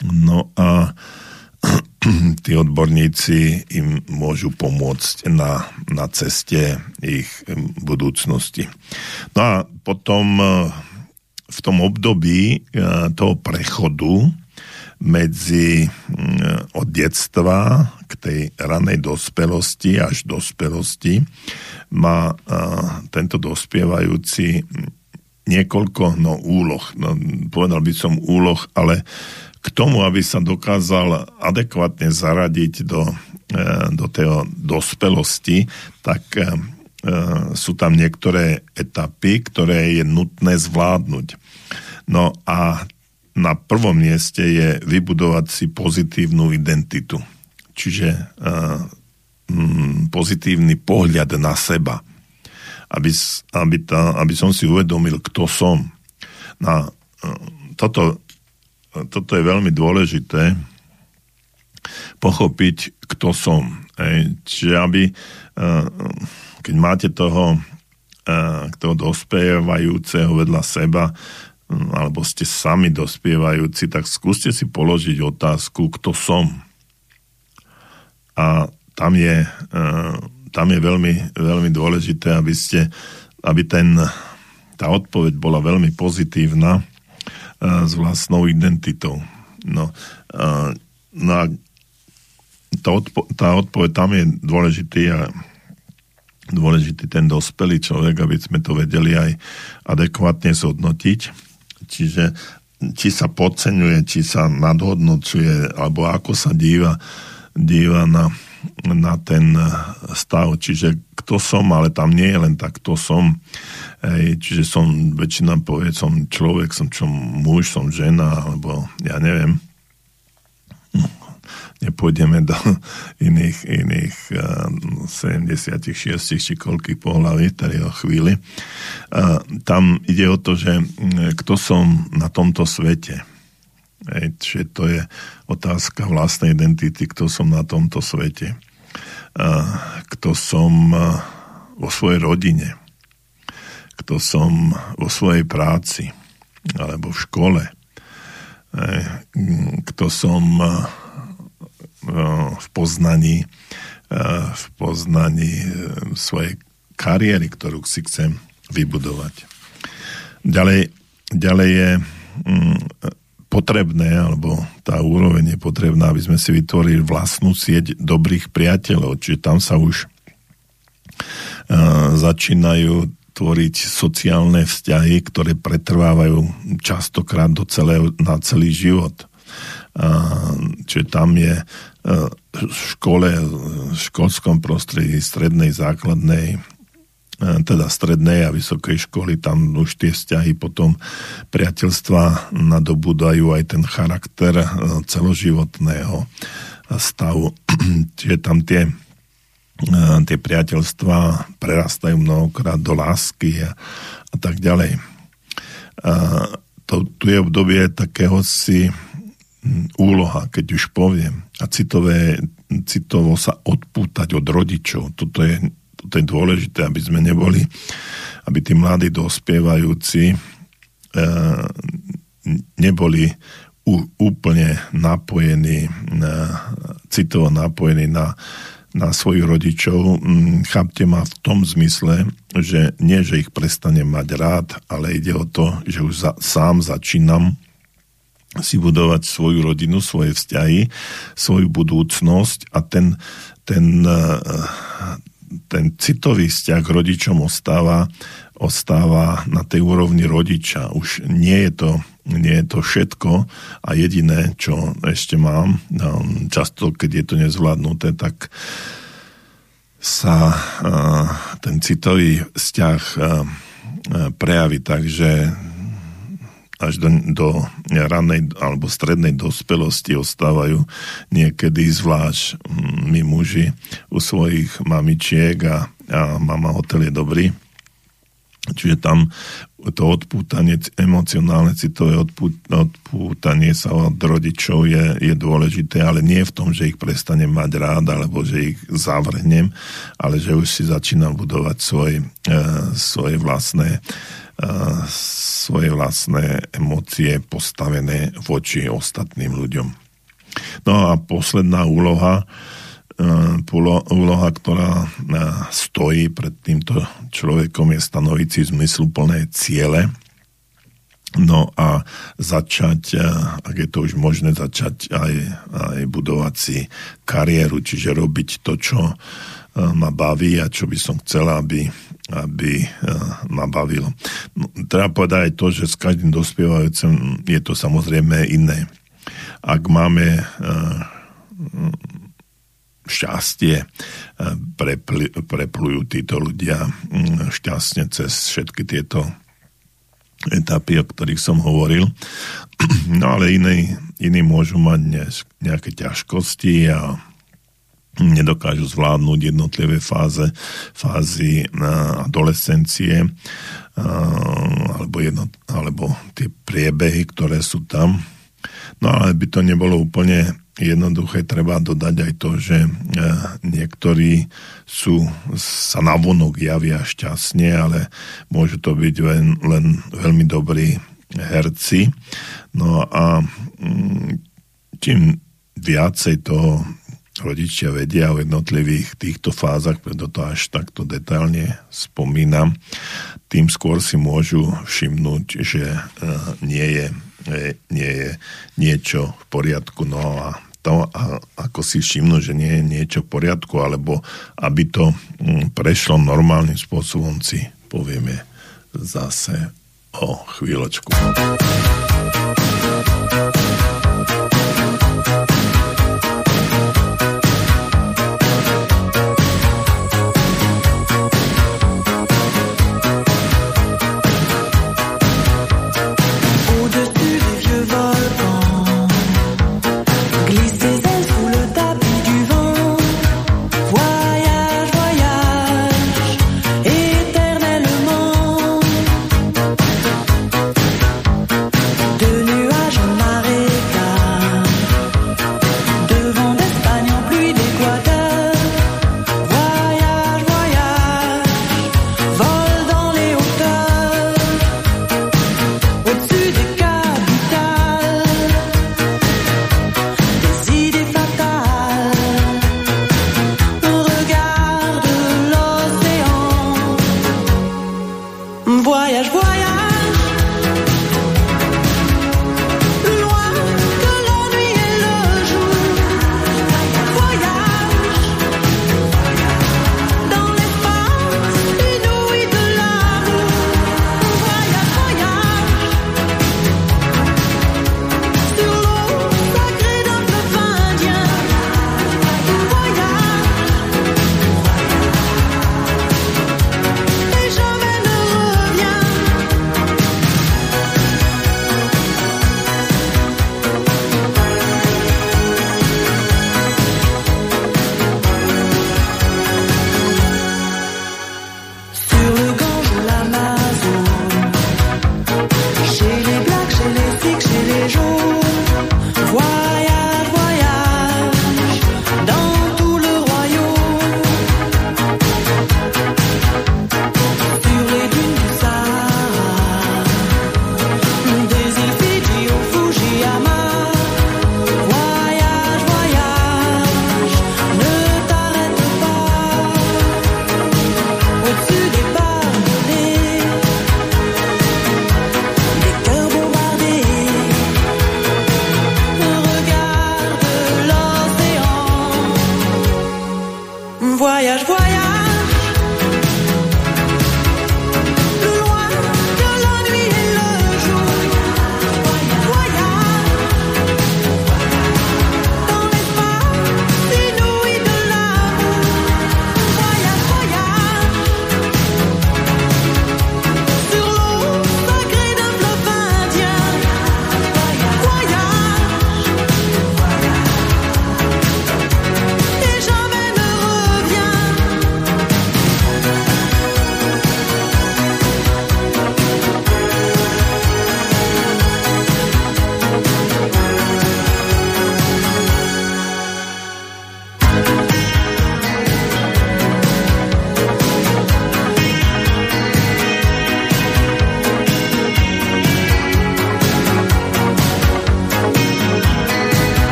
No a tí odborníci im môžu pomôcť na ceste ich budúcnosti. No a potom v tom období toho prechodu medzi od detstva k tej ranej dospelosti až dospelosti má tento dospievajúci niekoľko úloh. Povedal by som úloh, ale k tomu, aby sa dokázal adekvátne zaradiť do tej dospelosti, tak sú tam niektoré etapy, ktoré je nutné zvládnuť. No a na prvom mieste je vybudovať si pozitívnu identitu. Čiže pozitívny pohľad na seba. Aby som si uvedomil, kto som. Toto je veľmi dôležité pochopiť, kto som. Čiže keď máte toho dospievajúceho vedľa seba, alebo ste sami dospievajúci, tak skúste si položiť otázku, kto som. A tam je veľmi, veľmi dôležité, aby tá odpoveď bola veľmi pozitívna s vlastnou identitou. No a tá odpoveď tam je dôležitý ten dospelý človek, aby sme to vedeli aj adekvátne zhodnotiť. Čiže či sa podceňuje, či sa nadhodnocuje, alebo ako sa díva na ten stav. Čiže kto som, ale tam nie je len tak, kto som. Čiže väčšina povie, som človek, som muž, som žena, alebo ja neviem. Nepôjdeme do iných 76 či koľkých pohlaví, tady o chvíli. Tam ide o to, že kto som na tomto svete. Čiže to je otázka vlastnej identity, kto som na tomto svete. Kto som vo svojej rodine. Kto som vo svojej práci alebo v škole. Kto som v poznaní svojej kariéry, ktorú si chcem vybudovať. Ďalej je potrebné, alebo tá úroveň je potrebná, aby sme si vytvorili vlastnú sieť dobrých priateľov, čiže tam sa už začínajú tvoriť sociálne vzťahy, ktoré pretrvávajú častokrát na celý život. Čiže tam je v školskom prostredí strednej, základnej, teda strednej a vysokej školy, tam už tie vzťahy potom priateľstva nadobúdajú aj ten charakter celoživotného stavu. Čiže tam tie priateľstva prerastajú mnohokrát do lásky a tak ďalej. Tu je obdobie takého si úloha, keď už poviem, a citovo sa odpútať od rodičov. Toto je dôležité, aby sme neboli, aby tí mladí dospievajúci neboli úplne napojení, citovo napojení na svojich rodičov. Chápte ma v tom zmysle, že nie, že ich prestanem mať rád, ale ide o to, že už sám začínam si budovať svoju rodinu, svoje vzťahy, svoju budúcnosť a ten citový vzťah k rodičom ostáva na tej úrovni rodiča. Už nie je to všetko a jediné, čo ešte mám, často, keď je to nezvládnuté, tak sa ten citový vzťah prejaví tak, že až do ranej alebo strednej dospelosti ostávajú niekedy zvlášť my muži u svojich mamičiek a mama hotel je dobrý. Čiže tam to odpútanie, emocionálne citové odpútanie sa od rodičov je dôležité, ale nie v tom, že ich prestanem mať rád alebo že ich zavrhnem, ale že už si začínam budovať svoje svoje vlastné emócie postavené voči ostatným ľuďom. No a posledná úloha, ktorá stojí pred týmto človekom, je stanoviť si zmysluplné ciele. No a začať, ak je to už možné, začať aj budovať si kariéru, čiže robiť to, čo ma baví a čo by som chcela, aby ma bavilo. No, treba povedať aj to, že s každým dospievajúcim je to samozrejme iné. Ak máme šťastie, preplujú títo ľudia šťastne cez všetky tieto etapy, o ktorých som hovoril. No ale iní môžu mať nejaké ťažkosti a nedokážu zvládnuť jednotlivé fázy adolescencie alebo tie priebehy, ktoré sú tam. No ale by to nebolo úplne jednoduché, treba dodať aj to, že niektorí sa navonok javia šťastne, ale môžu to byť len veľmi dobrí herci. No a čím viacej toho rodičia vedia o jednotlivých týchto fázach, preto to až takto detailne spomínam, tým skôr si môžu všimnúť, že nie je niečo v poriadku. No a to, ako si všimnú, že nie je niečo v poriadku, alebo aby to prešlo normálnym spôsobom, si povieme zase o chvíľočku.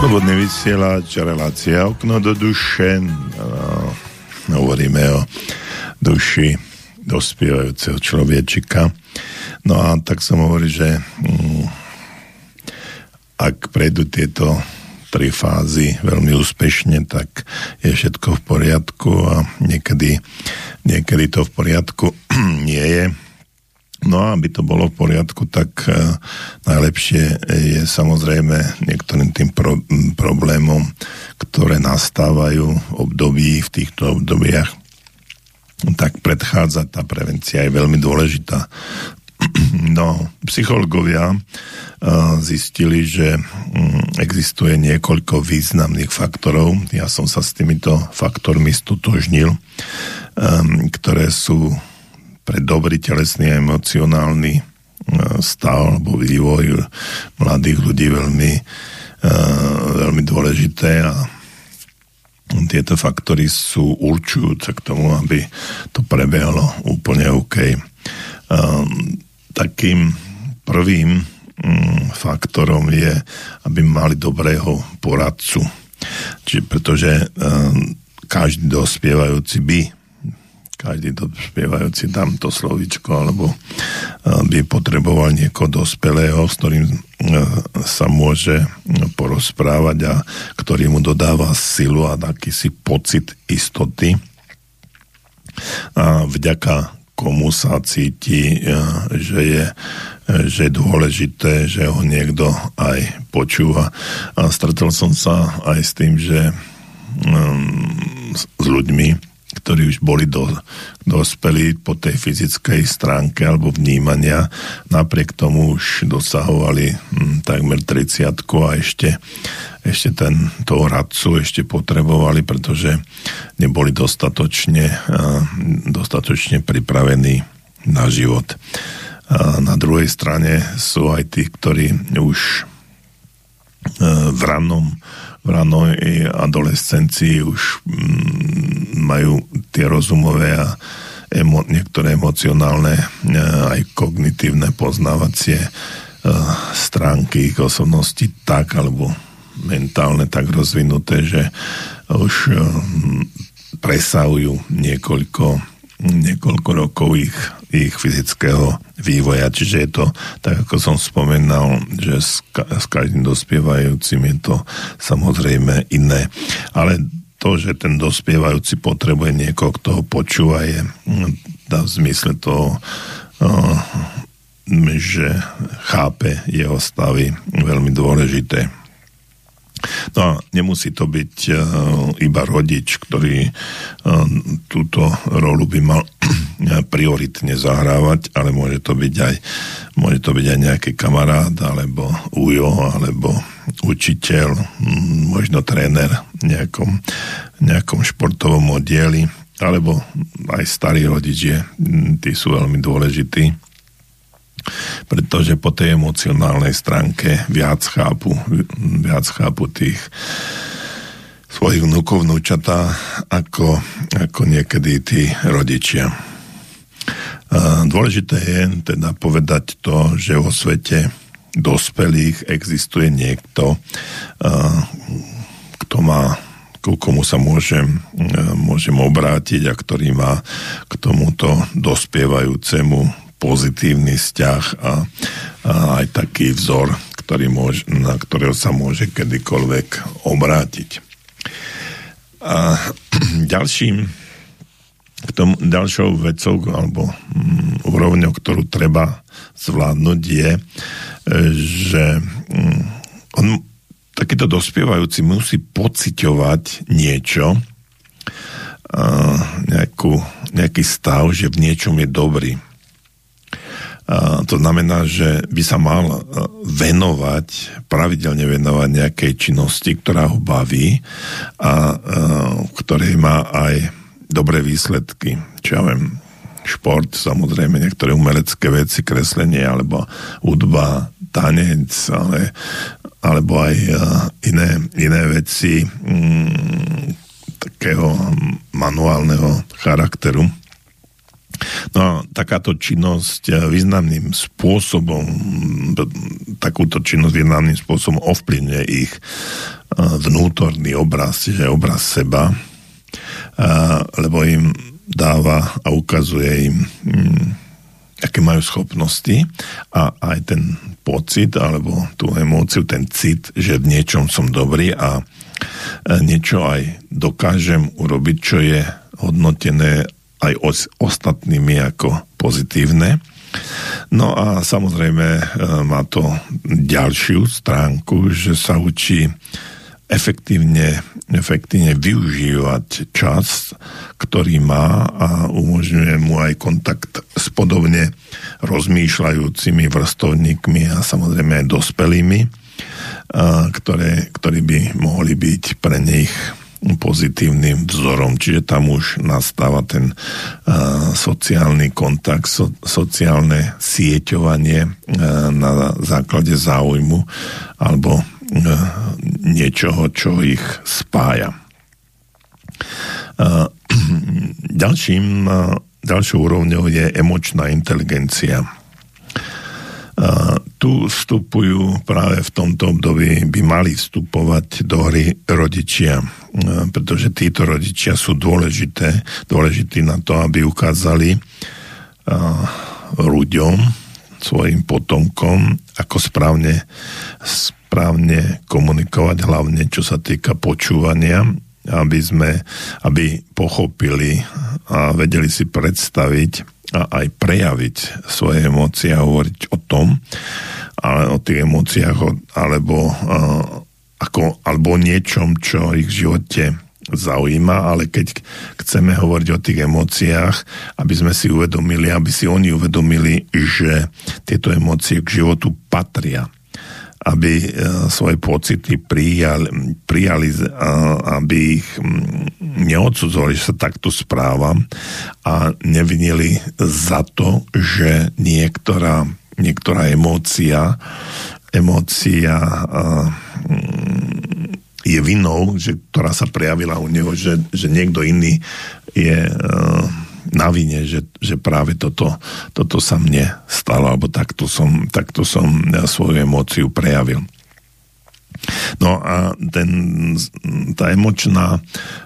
Slobodný vysielač, relácia Okno do duše. Hovoríme o duši dospievajúceho človečika. No a tak som hovoril, že ak prejdú tieto 3 fázy veľmi úspešne, tak je všetko v poriadku a niekedy to v poriadku nie je. No a aby to bolo v poriadku, tak najlepšie je samozrejme niektorým tým problémom, ktoré nastávajú v týchto obdobiach, tak predchádzať, tá prevencia je veľmi dôležitá. No, psychológovia zistili, že existuje niekoľko významných faktorov. Ja som sa s týmito faktormi stotožnil, ktoré sú pre dobrý telesný a emocionálny stav alebo vývoj mladých ľudí veľmi dôležité a tieto faktory sú určujúce k tomu, aby to prebehlo úplne OK. Takým prvým faktorom je, aby mali dobrého poradcu. Pretože každý dospievajúci tam to slovíčko, alebo by potreboval niekoho dospelého, s ktorým sa môže porozprávať a ktorý mu dodáva silu a takýsi pocit istoty. A vďaka komu sa cíti, že je dôležité, že ho niekto aj počúva. A stretol som sa aj s tým, že s ľuďmi, ktorí už boli dospelí po tej fyzickej stránke alebo vnímania, napriek tomu už dosahovali takmer 30 a ešte toho radcu ešte potrebovali, pretože neboli dostatočne pripravení na život. A na druhej strane sú aj tí, ktorí už v ranej adolescencii už majú tie rozumové a niektoré emocionálne aj kognitívne poznávacie stránky ich osobnosti tak, alebo mentálne tak rozvinuté, že už presahujú niekoľko rokov ich fyzického vývoja. Čiže je to, tak ako som spomenal, že s každým dospievajúcim je to samozrejme iné. Ale to, že ten dospievajúci potrebuje niekoho, kto ho počúva, je v zmysle toho, že chápe jeho stavy, veľmi dôležité. No a nemusí to byť iba rodič, ktorý túto rolu by mal prioritne zahrávať, ale môže to byť aj nejaký kamarát, alebo ujo, alebo učiteľ, možno tréner v nejakom športovom oddieli, alebo aj starí rodičia, tí sú veľmi dôležití, pretože po tej emocionálnej stránke viac chápu tých svojich vnúkov, vnúčatá, ako niekedy tí rodičia. Dôležité je teda povedať to, že vo svete dospelých existuje niekto, ku komu sa môžem obrátiť a ktorý má k tomuto dospievajúcemu pozitívny vzťah a aj taký vzor, na ktorého sa môže kedykoľvek obrátiť. A ďalšou vecou alebo úrovňou, ktorú treba zvládnuť, je, že takýto dospievajúci musí pociťovať niečo, nejaký stav, že v niečom je dobrý. To znamená, že by sa mal pravidelne venovať nejakej činnosti, ktorá ho baví a ktorej má aj dobré výsledky. Čo ja viem, šport, samozrejme, niektoré umelecké veci, kreslenie, alebo hudba, tanec, alebo aj iné veci takého manuálneho charakteru. No a takáto činnosť významným spôsobom ovplyvňuje ich vnútorný obraz, čiže obraz seba, lebo im dáva a ukazuje im, aké majú schopnosti a aj ten pocit, alebo tú emóciu, ten cit, že v niečom som dobrý a niečo aj dokážem urobiť, čo je hodnotené aj ostatnými ako pozitívne. No a samozrejme má to ďalšiu stránku, že sa učí efektívne využívať čas, ktorý má a umožňuje mu aj kontakt s podobne rozmýšľajúcimi vrstovníkmi a samozrejme aj dospelými, ktorí by mohli byť pre nich pozitívnym vzorom. Čiže tam už nastáva ten sociálny kontakt, sociálne sieťovanie na základe záujmu alebo niečoho, čo ich spája. Ďalšou úrovňou je emočná inteligencia. Tu vstupujú práve v tomto období, by mali vstupovať do hry rodičia, pretože títo rodičia sú dôležití na to, aby ukázali ľuďom, svojim potomkom, ako správne komunikovať, hlavne čo sa týka počúvania, aby pochopili a vedeli si predstaviť a aj prejaviť svoje emócie a hovoriť o tom, ale o tých emóciách alebo o niečom, čo ich v živote zaujíma, ale keď chceme hovoriť o tých emóciách, aby sme si uvedomili, aby si oni uvedomili, že tieto emócie k životu patria, aby svoje pocity prijali, aby ich neodsudzovali, že sa takto správam a nevinili za to, že niektorá emócia je vinou, ktorá sa prejavila u neho, že niekto iný je na vine, že práve toto sa mne stalo, alebo takto som svoju emóciu prejavil. No a tá emočná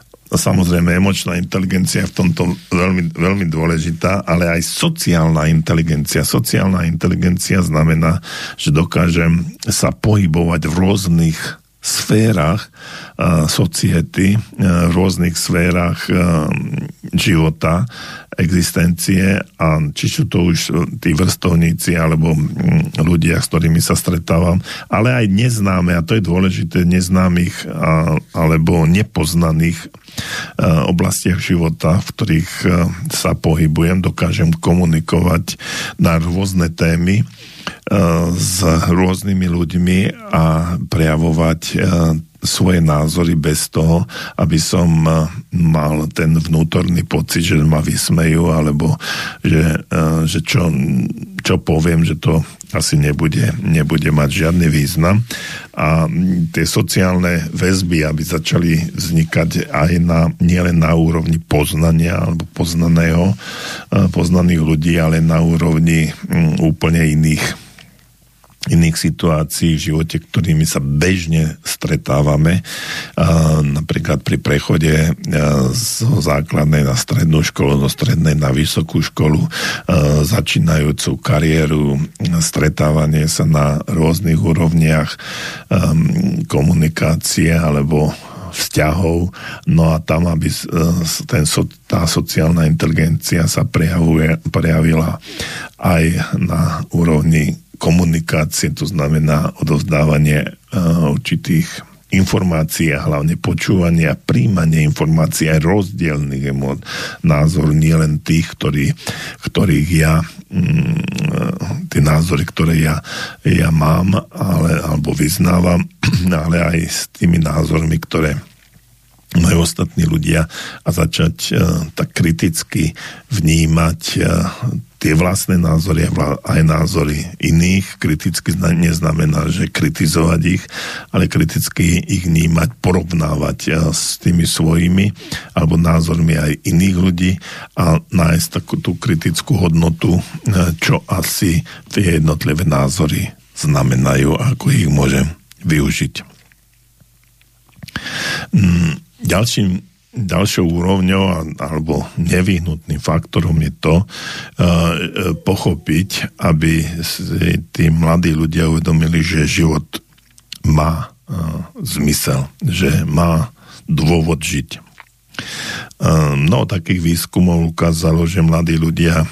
inteligencia v tomto veľmi, veľmi dôležitá, ale aj sociálna inteligencia. Sociálna inteligencia znamená, že dokážem sa pohybovať v rôznych sférach society, v rôznych sférach života, existencie a či sú to už tí vrstovníci alebo ľudia, s ktorými sa stretávam, ale aj neznáme, a to je dôležité, neznámych alebo nepoznaných oblastiach života, v ktorých sa pohybujem, dokážem komunikovať na rôzne témy s rôznymi ľuďmi a prejavovať svoje názory bez toho, aby som mal ten vnútorný pocit, že ma vysmejú, alebo že čo poviem, že to asi nebude mať žiadny význam. A tie sociálne väzby, aby začali vznikať aj nielen na úrovni poznania alebo poznaných ľudí, ale na úrovni úplne iných situácií v živote, ktorými sa bežne stretávame, napríklad pri prechode zo základnej na strednú školu, zo strednej na vysokú školu, začínajúcu kariéru, stretávanie sa na rôznych úrovniach komunikácie alebo vzťahov, no a tam, aby tá sociálna inteligencia sa prejavila aj na úrovni komunikácie, to znamená odovzdávanie určitých informácií a hlavne počúvanie a príjmanie informácií aj rozdielnych názorov, nie len tých, ktorých ja tie názory, ktoré ja mám alebo vyznávam, ale aj s tými názormi, ktoré majú ostatní ľudia a začať tak kriticky vnímať tie vlastné názory a aj názory iných. Kriticky neznamená, že kritizovať ich, ale kriticky ich vnímať, porovnávať s tými svojimi alebo názormi aj iných ľudí a nájsť takú tú kritickú hodnotu, čo asi tie jednotlivé názory znamenajú a ako ich môžem využiť. Ďalšou úrovňou alebo nevyhnutným faktorom je to pochopiť, aby si tí mladí ľudia uvedomili, že život má zmysel, že má dôvod žiť. Mnoho takých výskumov ukázalo, že mladí ľudia,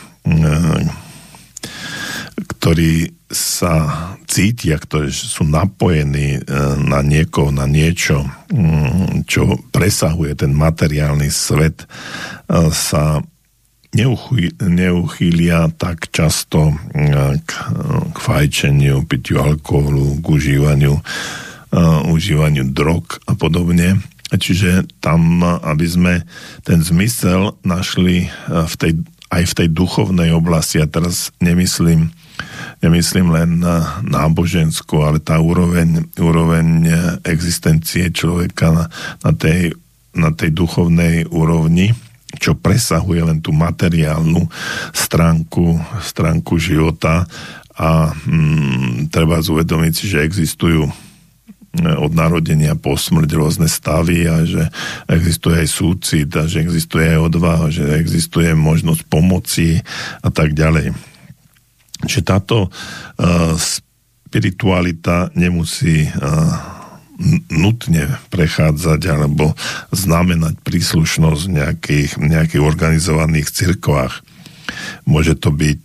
ktorí sa cítia, ktorí sú napojení na niekoho, na niečo, čo presahuje ten materiálny svet, sa neuchýlia tak často k fajčeniu, pitiu alkoholu, k užívaniu drog a podobne. Čiže tam, aby sme ten zmysel našli aj v tej duchovnej oblasti, a teraz nemyslím len na náboženskú, ale tá úroveň existencie človeka na tej duchovnej úrovni, čo presahuje len tú materiálnu stránku života a treba uvedomiť si, že existujú od narodenia po smrť rôzne stavy a že existuje aj súcit a že existuje aj odvaha, že existuje možnosť pomoci a tak ďalej. Čiže táto spiritualita nemusí nutne prechádzať alebo znamenať príslušnosť v nejakých organizovaných cirkvách. Môže byť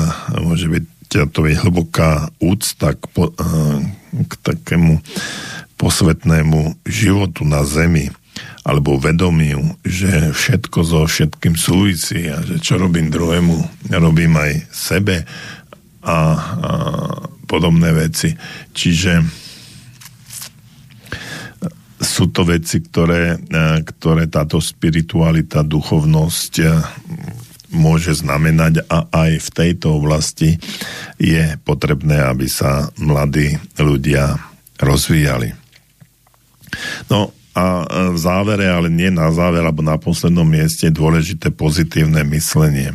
hlboká úcta k takému posvetnému životu na zemi alebo vedomiu, že všetko so všetkým súvisí a že čo robím druhému, robím aj sebe a podobné veci. Čiže sú to veci, ktoré táto spiritualita, duchovnosť môže znamenať a aj v tejto oblasti je potrebné, aby sa mladí ľudia rozvíjali. No a v závere, ale nie na záver, alebo na poslednom mieste je dôležité pozitívne myslenie.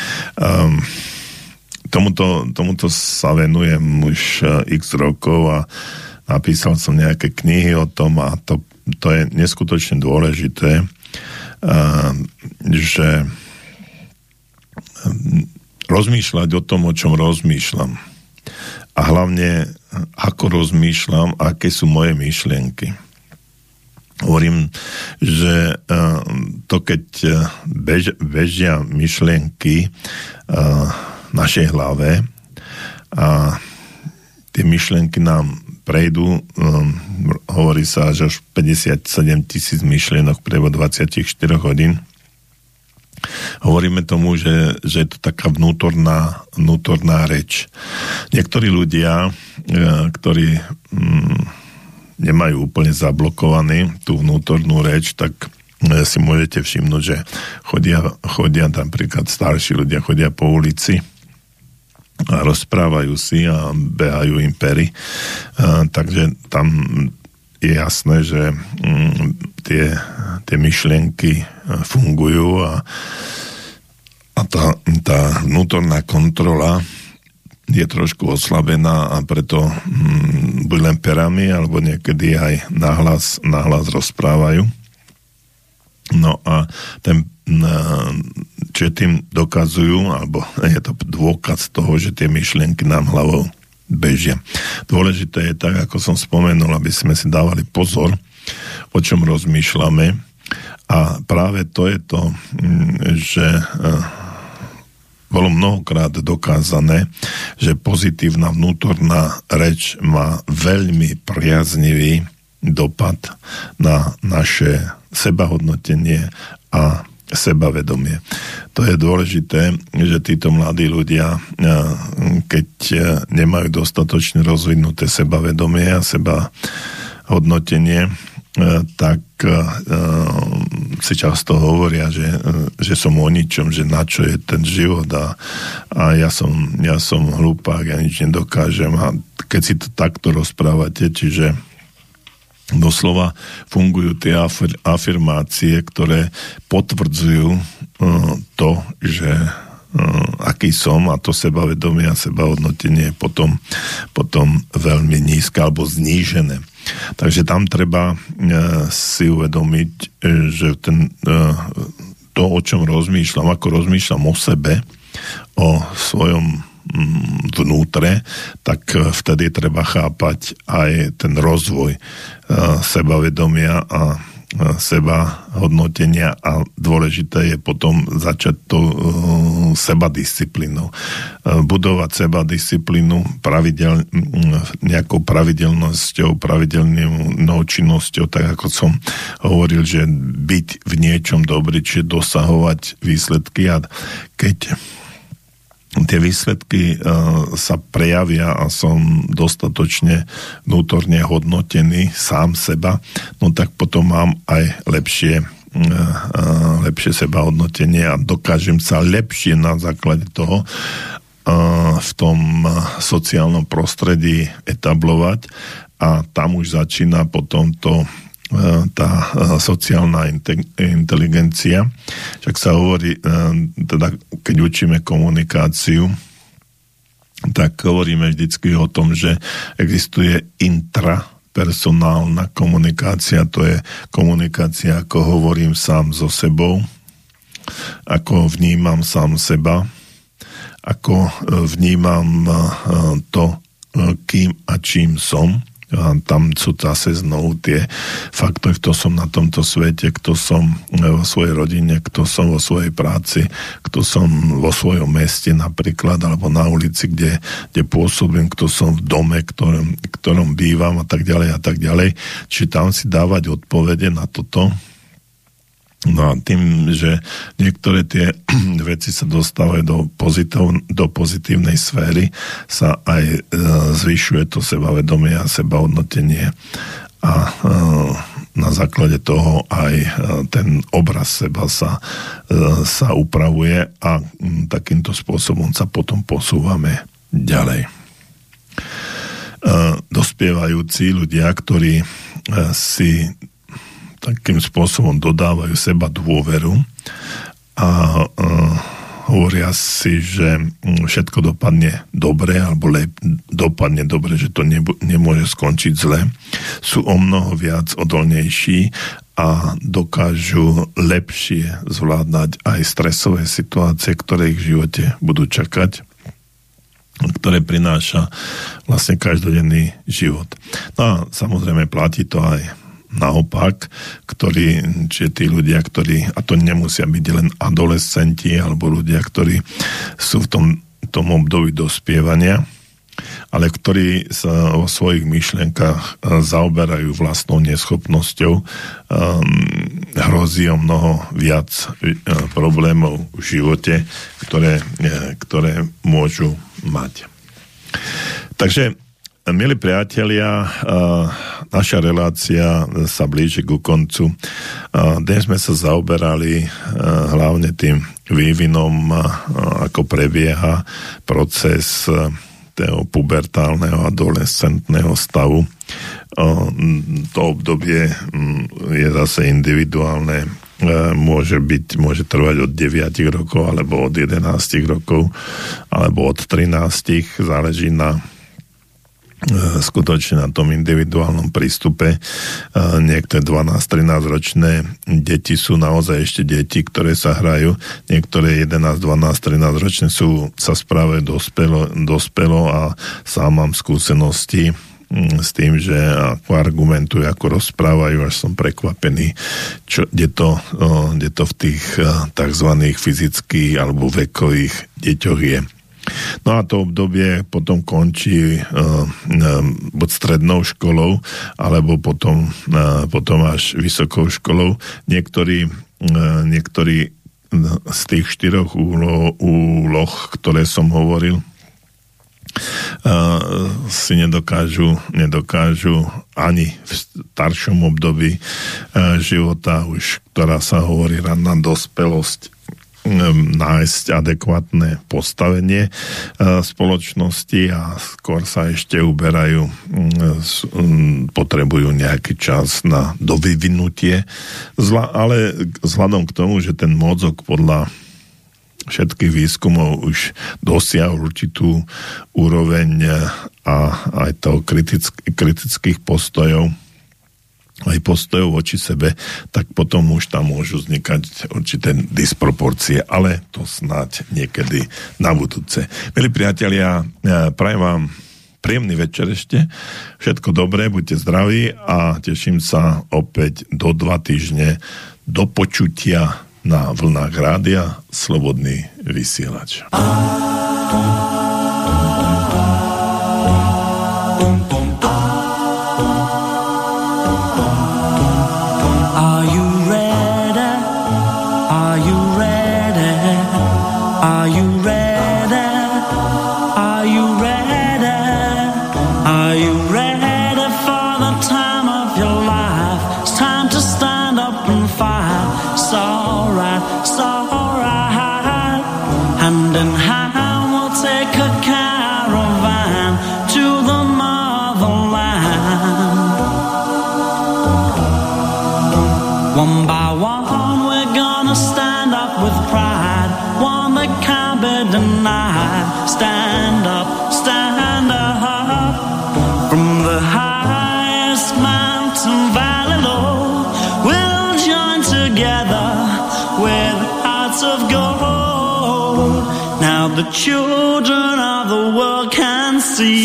Tomuto sa venujem už x rokov a napísal som nejaké knihy o tom a to je neskutočne dôležité, že rozmýšľať o tom, o čom rozmýšľam. A hlavne, ako rozmýšľam, aké sú moje myšlienky. Hovorím, že to, keď bežia myšlienky v našej hlave a tie myšlienky nám prejdú, hovorí sa, že až 57 000 myšlienok prebo 24 hodín. Hovoríme tomu, že je to taká vnútorná reč. Niektorí ľudia, ktorí nemajú úplne zablokovaný tú vnútornú reč, tak si môžete všimnúť, že chodia napríklad starší ľudia, chodia po ulici a rozprávajú si a behajú im pery. Takže tam je jasné, že tie myšlienky fungujú a tá vnútorná kontrola je trošku oslabená a preto buď len perami, alebo niekedy aj nahlas rozprávajú. No a čo tým dokazujú, alebo je to dôkaz toho, že tie myšlienky nám hlavou bežia. Dôležité je tak, ako som spomenul, aby sme si dávali pozor, o čom rozmýšľame, a práve to je to, že bolo mnohokrát dokázané, že pozitívna vnútorná reč má veľmi priaznivý dopad na naše sebahodnotenie a sebavedomie. To je dôležité, že títo mladí ľudia, keď nemajú dostatočne rozvinuté sebavedomie a sebahodnotenie, tak si často hovoria, že som o ničom, že na čo je ten život a ja som hlupák, ja nič nedokážem. A keď si to takto rozprávate, čiže doslova fungujú tie afirmácie, ktoré potvrdzujú to, že aký som, a to sebavedomie a sebahodnotenie je potom veľmi nízke alebo znížené. Takže tam treba si uvedomiť, že to, o čom rozmýšľam, ako rozmýšľam o sebe, o svojom vnútre, tak vtedy treba chápať aj ten rozvoj sebavedomia a seba hodnotenia, a dôležité je potom začať to sebadisciplínou. Budovať sebadisciplínu nejakou pravidelnosťou, pravidelnou činnosťou, tak ako som hovoril, že byť v niečom dobrý, čiže dosahovať výsledky, a keď tie výsledky sa prejavia a som dostatočne vnútorne hodnotený sám seba, no tak potom mám aj lepšie sebahodnotenie a dokážem sa lepšie na základe toho v tom sociálnom prostredí etablovať, a tam už začína potom tá sociálna inteligencia. Však sa hovorí, teda keď učíme komunikáciu, tak hovoríme vždycky o tom, že existuje intrapersonálna komunikácia, to je komunikácia, ako hovorím sám so sebou, ako vnímam sám seba, ako vnímam to, kým a čím som. A tam sú zase znovu tie faktory, kto som na tomto svete, kto som vo svojej rodine, kto som vo svojej práci, kto som vo svojom meste napríklad, alebo na ulici, kde pôsobím, kto som v dome, ktorom bývam a tak ďalej a tak ďalej. Čiže tam si dávať odpovede na toto. No a tým, že niektoré tie veci sa dostávajú do pozitívnej sféry, sa aj zvyšuje to sebavedomie a sebahodnotenie, a na základe toho aj ten obraz seba sa upravuje, a takýmto spôsobom sa potom posúvame ďalej. Dospievajúci ľudia, ktorí si takým spôsobom dodávajú seba dôveru a hovoria si, že všetko dopadne dobre, alebo dopadne dobre, že to nemôže skončiť zle, sú omnoho viac odolnejší a dokážu lepšie zvládať aj stresové situácie, ktoré ich v živote budú čakať, ktoré prináša vlastne každodenný život. No a samozrejme platí to aj naopak, čiže tí ľudia, ktorí, a to nemusia byť len adolescenti alebo ľudia, ktorí sú v tom období dospievania, ale ktorí sa vo svojich myšlienkach zaoberajú vlastnou neschopnosťou, hrozí o mnoho viac problémov v živote, ktoré môžu mať. Takže, milí priatelia, naša relácia sa blíži ku koncu. Dnes sme sa zaoberali hlavne tým vývinom, ako prebieha proces toho pubertálneho adolescentného stavu. To obdobie je zase individuálne. Môže trvať od 9 rokov, alebo od 11 rokov, alebo od 13, záleží skutočne na tom individuálnom prístupe. Niektoré 12-13 ročné deti sú naozaj ešte deti, ktoré sa hrajú. Niektoré 11, 12, 13 ročné sa správajú dospelo, a sám mám skúsenosti s tým, že ako argumentujú, ako rozprávajú, až som prekvapený, kde to v tých takzvaných fyzických alebo vekových deťoch je. No a to obdobie potom končí buď strednou školou, alebo potom až vysokou školou. Niektorí z tých 4 úloh, ktoré som hovoril, si nedokážu ani v staršom období života, už ktorá sa hovorí ranná dospelosť, nájsť adekvátne postavenie spoločnosti, a skôr sa ešte uberajú, potrebujú nejaký čas na dovyvinutie, ale vzhľadom k tomu, že ten mozog podľa všetkých výskumov už dosiahol určitú úroveň a aj toho kritických postojov, aj postojov voči sebe, tak potom už tam môžu vznikať určité disproporcie, ale to snáď niekedy na budúce. Milí priatelia, prajem vám príjemný večer ešte, všetko dobré, buďte zdraví a teším sa opäť do 2 týždne do počutia na vlnách rádia Slobodný vysielač. One by one we're gonna stand up with pride, one that can't be denied. Stand up from the highest mountain valley low. We'll join together with hearts of gold. Now the children of the world can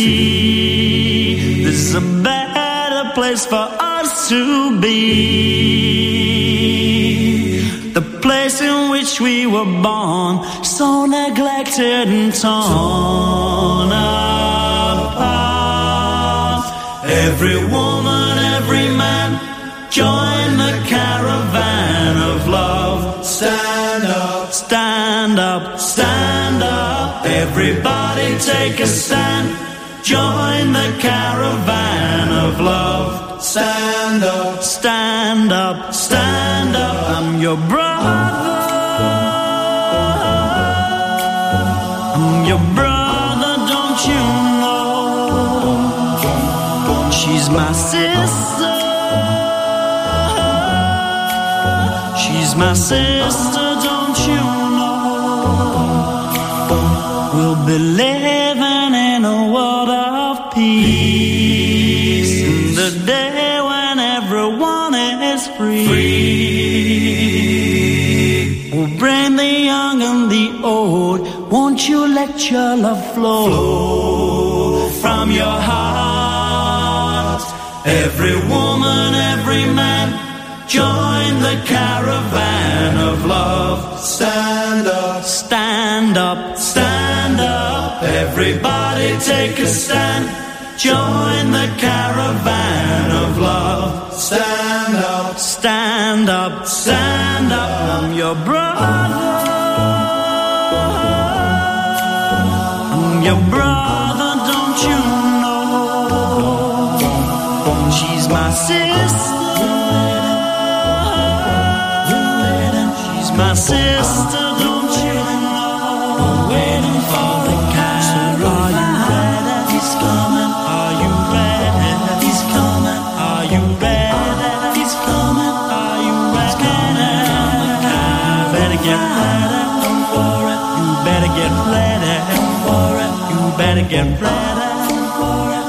see this is a better place for us to be. The place in which we were born, so neglected and torn apart. Every woman, every man, join the caravan of love. Stand up, stand up, stand up. Everybody take a stand. Join the caravan of love. Stand up, stand up, stand up. I'm your brother. I'm your brother, don't you know? She's my sister. She's my sister, don't you know? We'll be living in a world of peace. In the day when everyone is free. We'll bring the young and the old. Won't you let your love flow from your heart? Every woman, every man, join the caravan of love. Stand up, stand up, stand up. Everybody take a stand. Join the caravan of love. Stand up, stand up, stand up. I'm your brother. I'm your brother, don't you know? She's my sister. She's my sister, don't you know? Waiting for the caravan. Are you ready? He's coming. Are you ready? He's coming. Are you ready? He's coming. Are you ready? Better get ready. Don't worry. You better get ready. Don't worry. You better get ready. Don't worry.